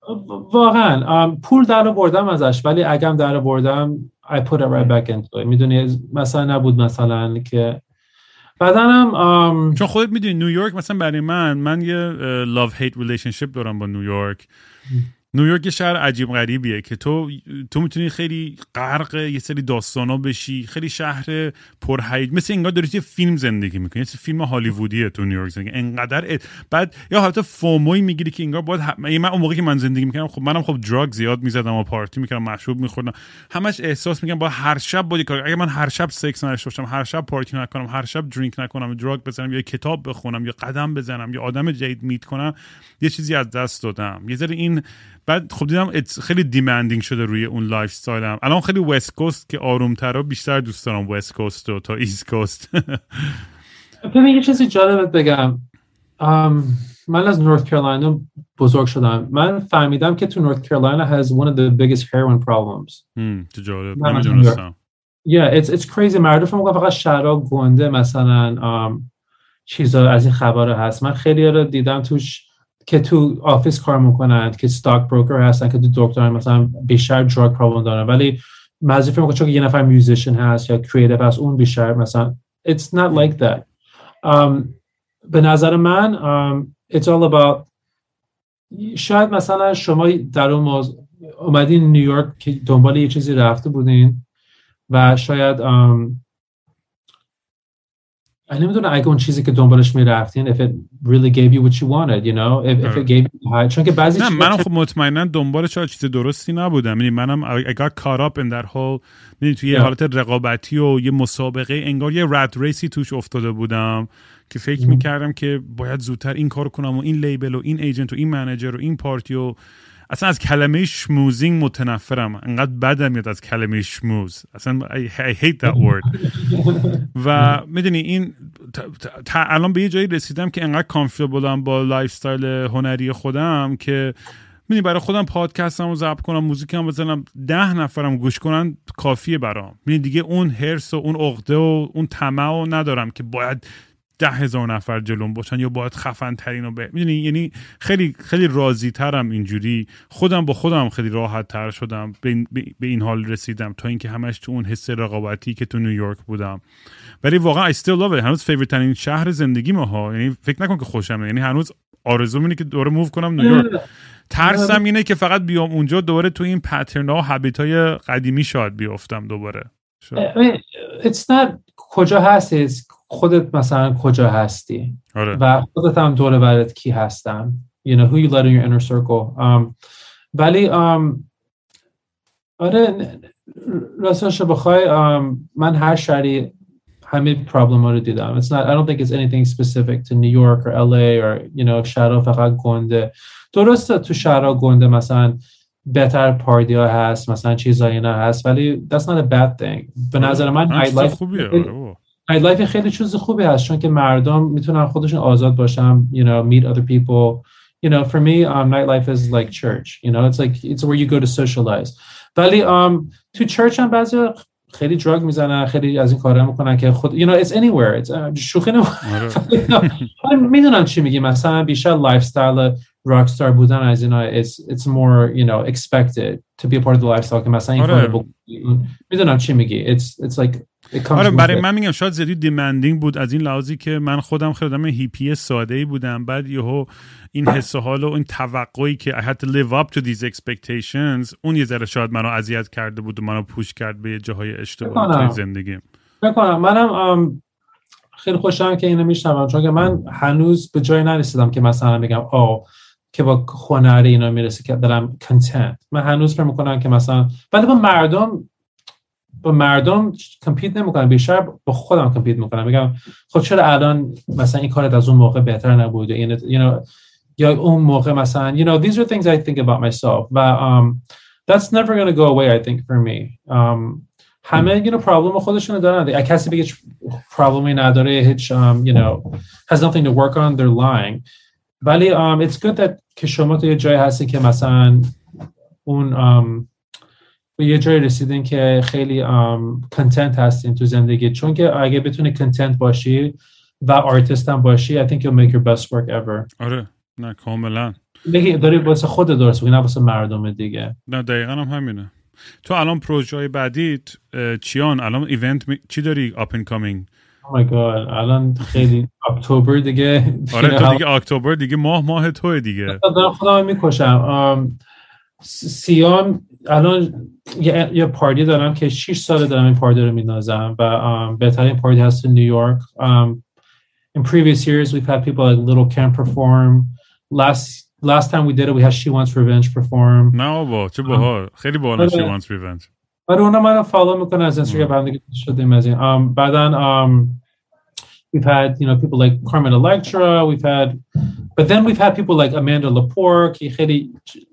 واقعا پول در بردم ازش، ولی اگه در بردم I put it right back into it. میدونی مثلا نبود مثلا که بعدنم um... چون خودت میدونی نیویورک مثلا برای من من یه love hate relationship دارم با نیویورک. نیویورک یه شهر عجیب غریبیه که تو تو میتونی خیلی غرق یه سری داستانا بشی، خیلی شهر پرهیج، مثل انگار داری یه فیلم زندگی میکنی، یه فیلم هالیوودیه تو نیویورک زندگی انقدر ات... بعد یا حتی فوموی میگیری که انگار باید ه... من اون موقعی که من زندگی میکردم خب منم خب دراگ زیاد میزدم و پارتی میکردم، مشروب میخوردم، همش احساس میکنم با هر شب باید کار، اگه من هر شب سکس نداشته باشم، هر شب پارتی نکنم، هر شب درینک نکنم، دراگ بزنم یا کتاب بخونم یا قدم بزنم یا آدم جدید میت کنم، یه چیزی از دست دادم. یه ذره این بعد خب دیدم خیلی دیمندینگ شده روی اون لایف استایلم. الان خیلی وست کوست که آروم‌تره، بیشتر دوست دارم وست کوست تا ایست کوست. ببین یه چیزی جالبت بگم، من از نورث کارولاینا بزرگ شدم. من فهمیدم که تو نورث کارولاینا has one of the biggest heroin problems. هم تو جالب نمیدونستم. Yeah, it's it's crazy. مردم فکر فقط شهرها گنده مثلا چیزا از این خبرها هست. من خیلی رو دیدم توش که تو آفیس کار میکنن که ستاک بروکر هستن که تو دکتر مثلا بیشتر دراگ پرابلم دارن، ولی معذرت میخوام چون که یه نفر میوزیشن هست یا کریتیو هست اون بیشتر مثلا it's not like that. um, به نظر من um, it's all about شاید مثلا شما در اون موضوع اومدین نیویورک که دنبال یه چیزی رفته بودین و شاید um, I نمیدونم اگه اون چیزی که دنبالش میرفتین if it really gave you what you wanted, you know, if, if it gave you high. چون که بعضی نه منم خب مطمئنا دنبالش چیز درستی نبودم. یعنی منم I got caught up in that whole یعنی توی یه حالت رقابتی و یه مسابقه انگار یه رد ریسی توش افتاده بودم که فکر mm. میکردم که باید زودتر این کارو کنم و این لیبل و این ایجنت و این منیجر و این پارتی و اصلا از کلمه شموزینگ متنفرم، انقدر بدم میاد از کلمه شموز، اصلا I, I hate that word. و میدونی این تا الان به یه جایی رسیدم که انقدر کامفورتبلم با لایف استایل هنری خودم که میدونی برای خودم پادکستمو ضبط کنم، موزیکم بزنم، ده نفرم گوش کنن کافیه برام. میدونی دیگه اون هرس و اون عقده و اون طمع رو ندارم که باید ده هزار نفر جلوم باشن یا باید خفن ترین و به میدونی، یعنی خیلی خیلی راضی ترم اینجوری، خودم با خودم خیلی راحت تر شدم به این, به این حال رسیدم تا اینکه همش تو اون حس رقابتی که تو نیویورک بودم. ولی واقعا I still love it. هنوز فیوریت ترین شهر زندگی ما، یعنی فکر نکن که خوشمه، یعنی هنوز آرزوم اینه که دوباره موو کنم نیویورک. ترسم اینه که فقط بیام اونجا دوباره تو این پترن ها و هابیت های قدیمی شاید بیافتم دوباره. I mean, it's not کجا هستی، خودت مثلا کجا هستی آره. و خودت هم دور برت کی هستن، you know who you let in your inner circle. um, ولی um, آره راستش بخوای um, من هر شهری همه پرابلم ها رو دیدم. It's not, I don't think it's anything specific to New York or L A or you know شهرها فقط گنده. درسته تو شهرها گنده مثلا بهتر پارتی ها هست، مثلا چیزایی اینا هست، ولی that's not a bad thing. به نظر من نایت لایف خوبیه. نایت لایف خیلی چیز خوبی هست چون که مردم میتونن خودشون آزاد باشن, you know, meet other people. You know, for me, um, nightlife is like church. You know, it's like it's where you go to socialize. ولی um, تو church هم بعضی خیلی دراگ میزنن، خیلی از این کارا میکنن که خود you know it's anywhere. It's uh, شوخی نمیکنم. میدونم چی میگی، مثلا بیشتر لایف استایل راکستار بودن از اینا it's it's more you know expected to be a part of the lifestyle که مثلا این کارو میدونم چی میگی. It's it's like آره برای من میگم شاید زیادی دیمندینگ بود از این لحاظی که من خودم خیلی آدم هیپی ساده‌ای بودم، بعد یهو این حس و حال و این توقعی که I had to live up to these expectations اون یه ذره شاید منو اذیت کرده بود و منو پوش کرد به جاهای اشتباهی توی زندگیم. بکنم منم خیلی خوشحالم که اینو میشنوم چون که من هنوز به جای نرسیدم که مثلا بگم آه که با هنر اینا میرسه که دارم کنتنت. من هنوز فکر میکنم که مثلا ولی با مردم با مردم کمپیت نمیکنم، بیشتر با خودم کمپیت میکنم. میگم خب چرا الان مثلا این کارت از اون موقع بهتر نبود این you know یا اون موقع مثلا you know these are things I think about myself و um, that's never going to go away I think for me. um, همه you know problem خودشونو دارن. کسی بگه پرابلمی نداره هیچ um, you know has nothing to work on they're lying. ولی um, it's good that که شما تو یه جایی هستی که مثلا اون um, به یه جایی رسیدین که خیلی کنتنت um, هستین تو زندگی، چون که اگه بتونی کنتنت باشی و آرتیست هم باشی I think you'll make your best work ever. آره نه کاملا بگی داری واسه خودت درست بگی نه واسه مردم دیگه. نه دقیقاً هم همینه. تو الان پروژه‌های بعدیت چیان؟ الان ایونت می... چی داری up and coming؟ Oh my god الان خیلی اکتبر دیگه. آره تو دیگه اکتبر دیگه ماه ماه توه دیگه. دارم خودم میکشم. سیام الان یه, یه پارتی دارم که شش ساله دارم این پارتی رو می‌نازم و بهترین پارتی هست تو نیویورک. um, in previous years we've had people like Little Camp perform. last last time we did it we had She Wants Revenge perform. نه بابا چه باحال. خیلی باحال She Wants Revenge. آره اونا منو فالو میکنن از اینستاگرام هم دیگه شدیم از این. um, بعدن um, we've had you know people like Carmen Electra, we've had but then we've had people like Amanda Lepore که خیلی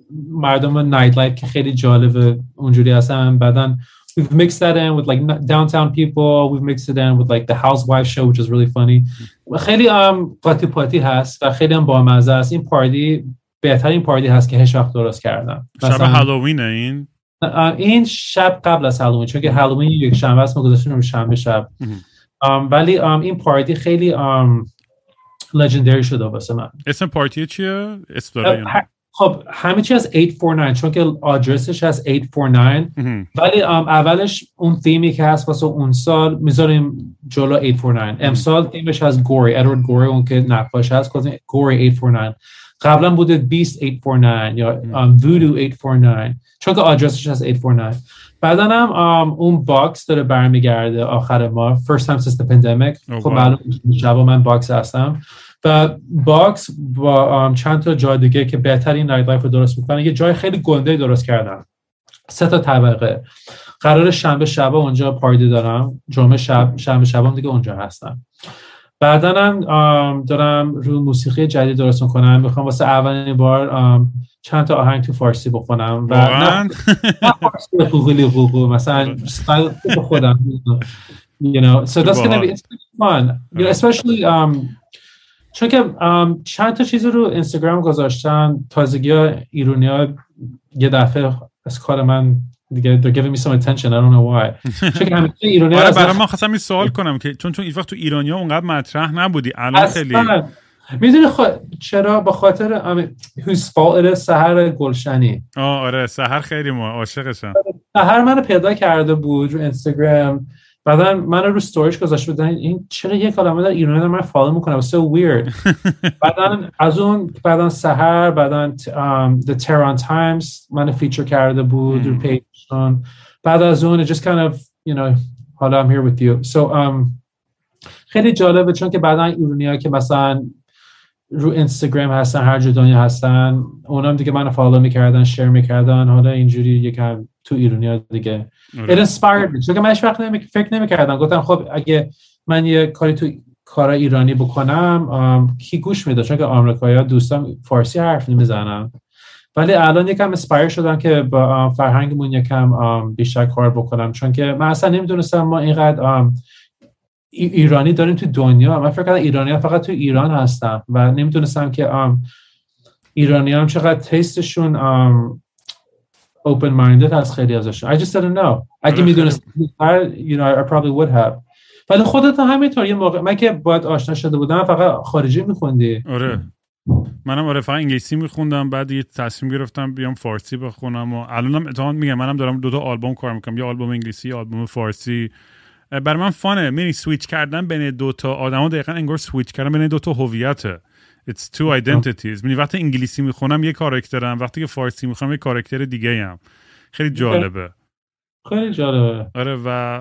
مردم نایت لایف که خیلی جالبه اونجوری هستن. بعدن we've mixed that in with like downtown people, we've mixed it in with like the housewife show which is really funny. خیلی um, پارتی پارتی هست و خیلی هم بامزه است. این پارتی بهترین پارتی هست که هیچ وقت درست کردم. شب هالووین این این شب قبل از هالووین چون که هالووین یک شنبه است ما گذاشتیم شنبه شب. um, ولی um, این پارتی خیلی um, legendary شده واسه من. اسم پارتی چیه؟ اسم خب همه چی از هشت چهار نه چون که آدرسش از هشت چهار نه ولی اولش اون تیمی که هست واسه اون سال میذاریم جلو هشت چهار نه. امسال تیمش از گوری ادوارد گوری اون که نقاش هست گذاشتیم گوری هشت چهار نه. قبلا بوده بیست هشت چهار نه یا وودو هشت چهار نه چون که آدرسش از هشت چهار نه. بعداً هم اون باکس داره برمیگرده آخر ماه first time since the pandemic. خب معلوم شب من باکس هستم و باکس با چند تا جای دیگه که بهترین نایت لایف رو درست میکنن یه جای خیلی گنده درست کردن. سه تا طبقه. قرار شنبه شب اونجا پارتی دارم، جمعه شب شنبه شبام دیگه اونجا هستم. بعداً هم دارم رو موسیقی جدید درست میکنم. میخوام واسه اولین بار چند تا آهنگ تو فارسی بخونم و نه نه فارسی خوغلی خوغو مثلا استایل خودم you know so that's going to be it's fun you know especially um چون که um, چند تا چیز رو اینستاگرام گذاشتن تازگی ها ایرونی ها یه دفعه از کار من دیگه they're giving me some attention I don't know why. چون همیشه ایرانی آره برای من خواستم این سوال کنم که چون چون این وقت تو ایرانیا اونقدر مطرح نبودی الان خیلی میدونی خ... چرا به خاطر whose fault it is سحر گلشنی. آه آره سحر خیلی ما عاشقشم. سحر منو پیدا کرده بود رو اینستاگرام بعدا منو رو استوریش گذاشته بود این چرا یه کلمه در ایرانی داره من فالو میکنه so weird. بعدا از اون بعدا سحر بعدا um, the Tehran Times منو فیچر کرده بود رو پیجشون بعد از اون it just kind of you know حالا I'm here with you so um, خیلی جالبه چون که بعدا ایرانی‌ها که مثلا رو اینستاگرام هستن هر جا دنیا هستن اونام دیگه منو فالو میکردن شیر میکردن حالا اینجوری یکم تو ایرانیا دیگه it inspired me چون که من هیچ وقت نمی... فکر نمیکردم گفتم خب اگه من یه کاری تو کار ایرانی بکنم کی گوش میده چون که آمریکایی‌ها دوستان فارسی حرف نمیزنن ولی الان یکم اسپایر شدم که با فرهنگمون یکم بیشتر کار بکنم چون که من اصلا نمیدونستم ما اینقدر ایرانی داریم تو دنیا من فکر کردم ایرانی‌ها فقط تو ایران هستن و نمیدونستم که ایرانی‌ها هم چقدر تیستشون open minded هست خیلی ازشون I just didn't know اگه میدونستم you know I probably would have ولی خودت همینطور یه موقع من که باید آشنا شده بودم فقط خارجی میخوندی آره منم آره فقط انگلیسی میخوندم بعد یه تصمیم گرفتم بیام فارسی بخونم و الانم اتفاقا میگم منم دارم دو تا آلبوم کار میکنم یه آلبوم انگلیسی یه آلبوم فارسی برای من فانه میری سویچ کردن بین دو تا آدمو دقیقاً انگار سویچ کردن بین دو تا هویته it's two identities میبینی وقتی انگلیسی میخونم یه کاراکترم وقتی که فارسی میخونم یه کاراکتر دیگه ام خیلی جالبه خیلی جالبه آره و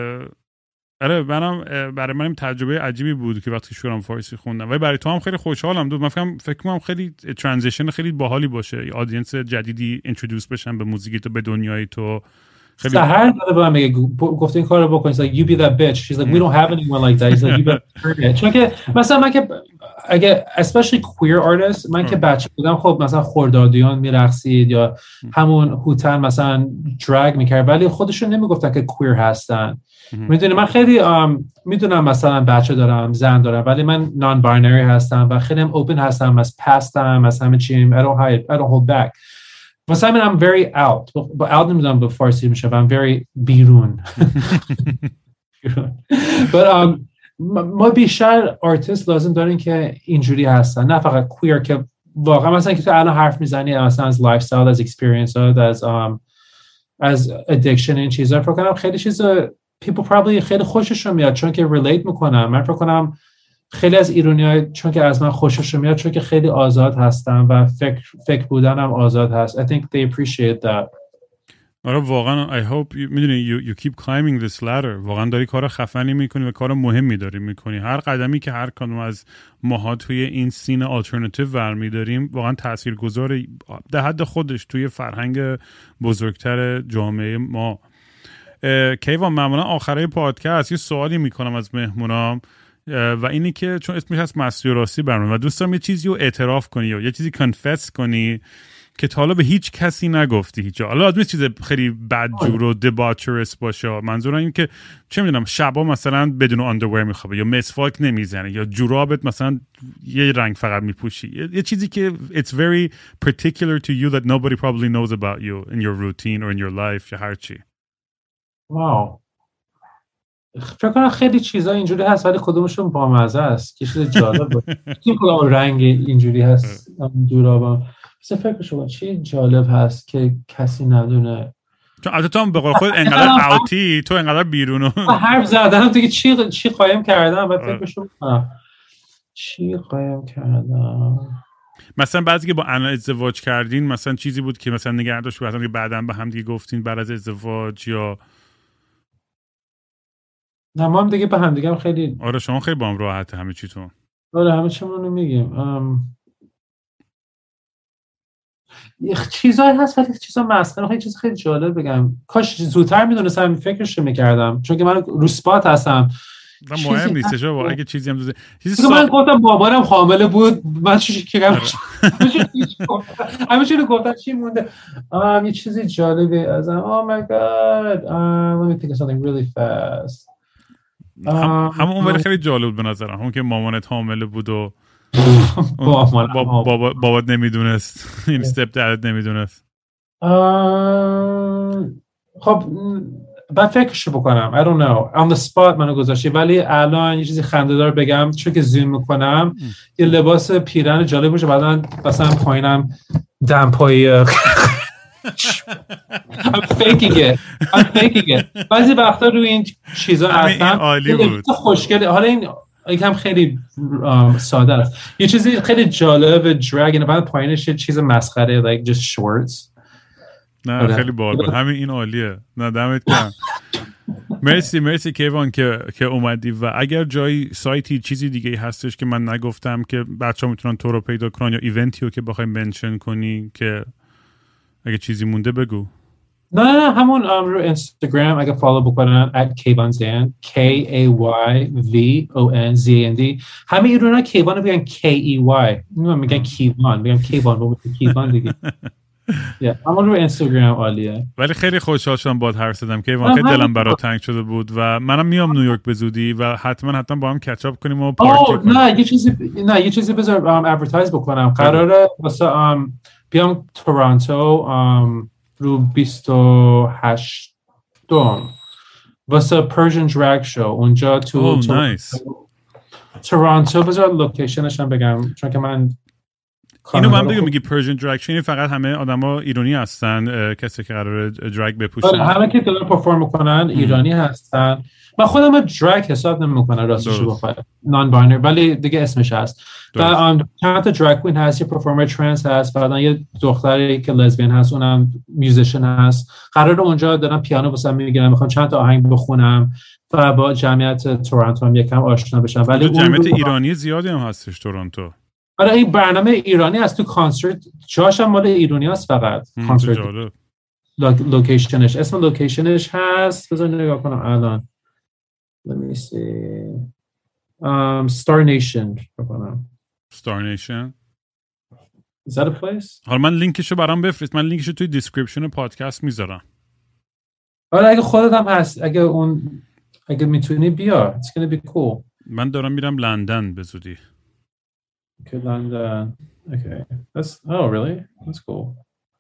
آره منم برای منم تجربه عجیبی بود که وقتی شروعم فارسی خوندم ولی برای تو هم خیلی خوشحالم دو من فکر فکر کنم خیلی ترانزیشن خیلی باحالی باشه یه آدینس جدیدی اینترودوس بشن به موزیک تو به دنیای تو خیلی سحر داره به من میگه گفته این کارو بکن like you be that bitch she's like we don't have anyone like that he's like you better چون که مثلا من که اگه especially queer artists من که بچه بودم خب مثلا خردادیان میرقصید یا همون هوتن مثلا drag میکرد ولی خودشون نمیگفتن که queer هستن میدونی من خیلی میدونم مثلا بچه دارم زن دارم ولی من non binary هستم و خیلی هم open هستم از پستم از همه چیم I don't hide I don't hold back واسه همین I'm very out با out نمیدونم به فارسی میشه I'm very بیرون but um, ما بیشتر آرتیست لازم داریم که اینجوری هستن نه فقط queer که واقعا مثلا که تو الان حرف میزنی مثلا از لایف استایل از اکسپریانس از um, از ادکشن این چیزا فکر کنم خیلی چیزا people probably خیلی خوششون میاد چون که ریلیت میکنن من فکر کنم خیلی از ایرانی‌ها چون که از من خوششون میاد چون که خیلی آزاد هستن و فکر فکر بودنم آزاد هست I think they appreciate that آره واقعا I hope you, میدونی you, you keep climbing this ladder واقعا داری کار خفنی میکنی و کار مهمی داری میکنی هر قدمی که هر کدوم از ماها توی این سین آلترناتیو برمی داریم واقعا تاثیرگذار در حد خودش توی فرهنگ بزرگتر جامعه ما کیوان معمولا آخرای پادکست یه سوالی میکنم از مهمونام و اینی که چون اسمش هست مستی و راستی برنامه و دوست دارم یه چیزی رو اعتراف کنی یا یه چیزی کنفس کنی که تا حالا به هیچ کسی نگفتی هیچ جا حالا آدمی چیز خیلی بدجور و دباچرس باشه منظورم این که چه میدونم شبا مثلا بدون آندرویر میخوابه یا مسواک نمیزنه یا جورابت مثلا یه رنگ فقط میپوشی یه, یه چیزی که it's very particular to you that nobody probably knows about you in your routine or in your life یا هر چی واو فکر کنم خیلی چیزا اینجوری هست ولی کدومشون بامزه است که چیز جالب این کدوم رنگ اینجوری هست جورابم مثلا فکر شما چی جالب هست که کسی ندونه چون البته تو هم به قول خود انقدر اوتی تو انقدر بیرونو حرف زدم دیگه چی چی قایم کردم بعد فکر شما چی قایم کردم مثلا بعضی که با انا ازدواج کردین مثلا چیزی بود که مثلا نگه داشت مثلا که بعداً به هم دیگه گفتین بعد از ازدواج یا نه ما هم دیگه به هم دیگه هم خیلی آره شما خیلی با هم راحته همه چیتون آره همه چیمون رو میگیم ام... یه چیزایی هست ولی چیزا مسخره خیلی چیز خیلی جالب بگم کاش زودتر میدونستم فکرش رو میکردم چون که من رو اسپات هستم مهم نیست چه با اگه چیزی هم دوزه چیزی من گفتم بابارم حامله بود من چی کردم همه چی رو گفتم چی مونده آم یه چیزی جالبه ازم oh my god um, let me think of something really fast هم اون ولی خیلی جالب بود به نظرم همون که مامانت حامله بود و بابات نمیدونست این استپ دادت نمیدونست خب بعد فکرشو بکنم. I don't know. On the spot منو گذاشتی، ولی الان یه چیزی خنده‌دار بگم، چون که زوم میکنم یه لباس پیرن جالب باشه، بعدن مثلا پایینم دمپایی I'm faking it. I'm faking it. بعضی وقتا روی این چیزا هستن عالی بود. خوشگله. حالا این یکم خیلی ساده است. یه چیزی خیلی جالب دراگ، بعد پایینش یه چیز مسخره like just shorts. نه خیلی باحال. همین این عالیه. نه دمت گرم. مرسی مرسی کیوان که که اومدی. و اگر جایی سایتی چیزی دیگه هستش که من نگفتم که بچه‌ها میتونن تو رو پیدا کنن، یا ایونتی رو که بخوای منشن کنی، که اگه چیزی مونده بگو. نه نه همون رو اینستاگرام اگه فالو بکنن at kayvanzand K A Y V O N Z A N D. همه ایرونا کیوان رو بگن K E Y، نه میگن کیوان، میگن کیوان با کیوان دیگه. یا همون رو اینستاگرام عالیه. ولی خیلی خوشحال شدم باهات حرف زدم کیوان، خیلی دلم برات تنگ شده بود و منم میام نیویورک به زودی و حتما حتما با هم کچ اپ کنیم و پارتی کنیم. نه یه چیزی نه یه چیزی بذار ادورتایز بکنم. قراره واسه بیام تورنتو رو بیست و هشت دوم واسه پرژن دراگ شو اونجا تو oh, nice. تورنتو. بذار لوکیشنش هم بگم چون که من اینو من دیگه میگی پرژن دراگ شو، این فقط همه آدما ایرانی هستن کسی که قراره دراگ بپوشن؟ همه که دارن پرفورم میکنن ایرانی هستن. من خودم دراگ حساب نمیکنم راستش بخوام، نان باینری، ولی دیگه اسمش هست. بعد چند تا دراگ کوین هست، یه پرفورمر ترنس هست، بعدن یه دختری که لزبین هست اونم میوزیشن هست. قراره اونجا دارم پیانو واسم میگیرم، میخوام چند تا آهنگ بخونم و با جمعیت تورنتو هم یکم آشنا بشم. ولی جمعیت ایرانی زیادی هم هستش تورنتو. آره این برنامه ایرانی هست تو کانسرت، جاش هم مال ایرانی هست فقط. کانسرت لوکیشنش، اسم لوکیشنش هست، بذار نگاه کنم الان. Let me see. Um, Star Nation. Star Nation. Is that a place? حالا من لینکشو برام بفرست. من لینکشو توی دیسکریپشن پادکست میذارم. آره اگه خودت هم هست، اگه اون اگه میتونی بیا. It's gonna be cool. من دارم میرم لندن به زودی. Okay, London. Okay. That's oh really? That's cool.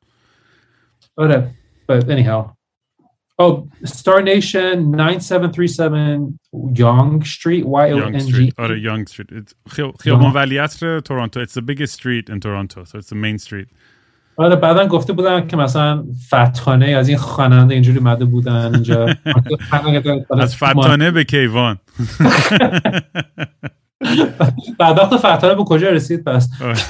آره. But anyhow. Oh, Star Nation ninety-seven thirty-seven Yonge Street, Y O N G. آره Yonge Street. خیابان ولیعصر تورنتو. It's the biggest street in Toronto, so it's the main street. آره بعدن گفته بودن که مثلا فتخانه از این خواننده اینجوری مده بودن اینجا. از فتخانه به کیوان. بعد وقت فتخانه به کجا رسید پس؟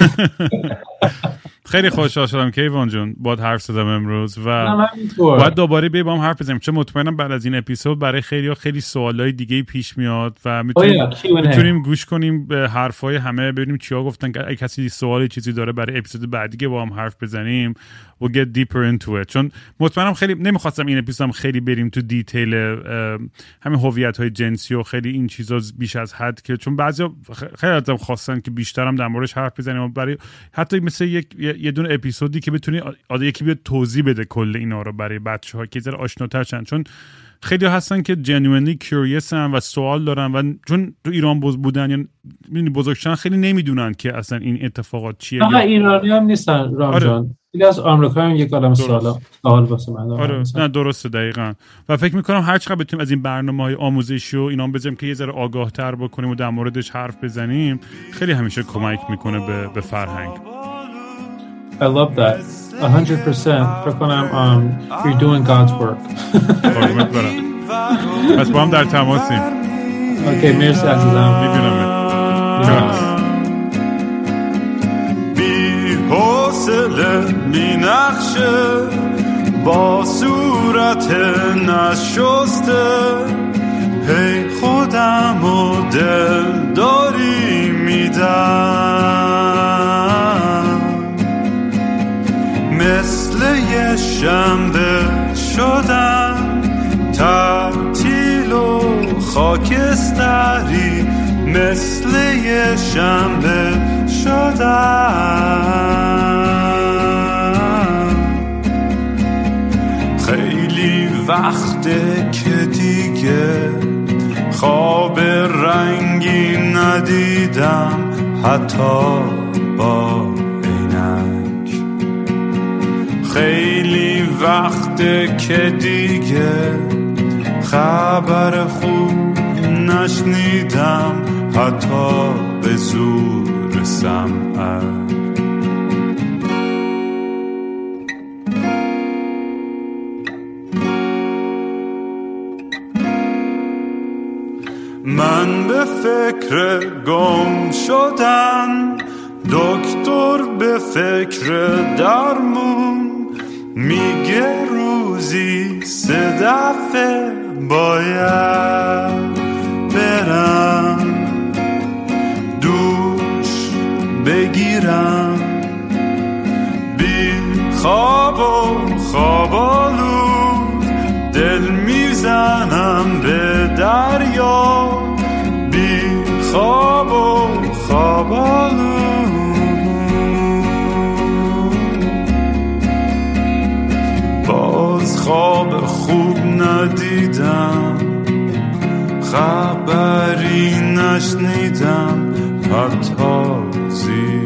خیلی خوشحال شدم کیوان جون باهات حرف زدم امروز و باید دوباره بیای با هم حرف بزنیم، چون مطمئنم بعد از این اپیزود برای خیلی‌ها خیلی سوالای دیگه پیش میاد و میتونیم میتونیم گوش کنیم به حرفای همه، ببینیم چیا گفتن. اگه کسی سوالی چیزی داره برای اپیزود بعدی که با هم حرف بزنیم و get deeper into it، چون مطمئنم خیلی نمیخواستم این اپیزودم خیلی بریم تو دیتیل همین هویت‌های جنسی و خیلی این چیزا بیش از حد، که چون بعضیا خیلی ازم خواستن که بیشترم در موردش حرف بزنیم و برای حتی مثل یک یه دونه اپیزودی که بتونی آده یکی بیاد توضیح بده کل اینا رو برای بچه‌ها که ذره آشناتر شن، چون خیلی هستن که genuinely curious ان و سوال دارن و چون تو ایران بودن یا یعنی بزرگشن خیلی نمیدونن که اصلا این اتفاقات چیه. نه ایرانی هم نیستن رام جان. آره. دیگه از آمریکا هم یک عالم سوالا سوال واسه من آره نه درسته دقیقاً. و فکر می‌کنم هر چقدر بتونیم از این برنامه‌های آموزشی و اینا بزنیم که یه ذره آگاه‌تر بکنیم و در موردش حرف بزنیم، خیلی همیشه کمک میکنه به به فرهنگ. I love that. one hundred percent. فکر کنم um, you're doing God's work. قربونت برم. پس با هم در تماسیم. اوکی مرسی عزیزم. میبینم. بی حوصله بی نقشه با صورت نشسته هی خودم و دل داری میدم، مثل یه شنبه شدم تعطیل و خاکستری، مثل یه شنبه شدم. خیلی وقته که دیگه خواب رنگی ندیدم، حتی با عینک. خیلی وقته که دیگه خبر خوب نشنیدم، حتی به زور سمعت. من به فکر گم شدن، دکتر به فکر درمون، میگه روزی سه دفعه باید برم دوش بگیرم. بی خواب و خوابالود دل میزنم به دریا، بی خواب و خوابالود. باز خواب خوب ندیدم، خبری نشنیدم، حتی زیر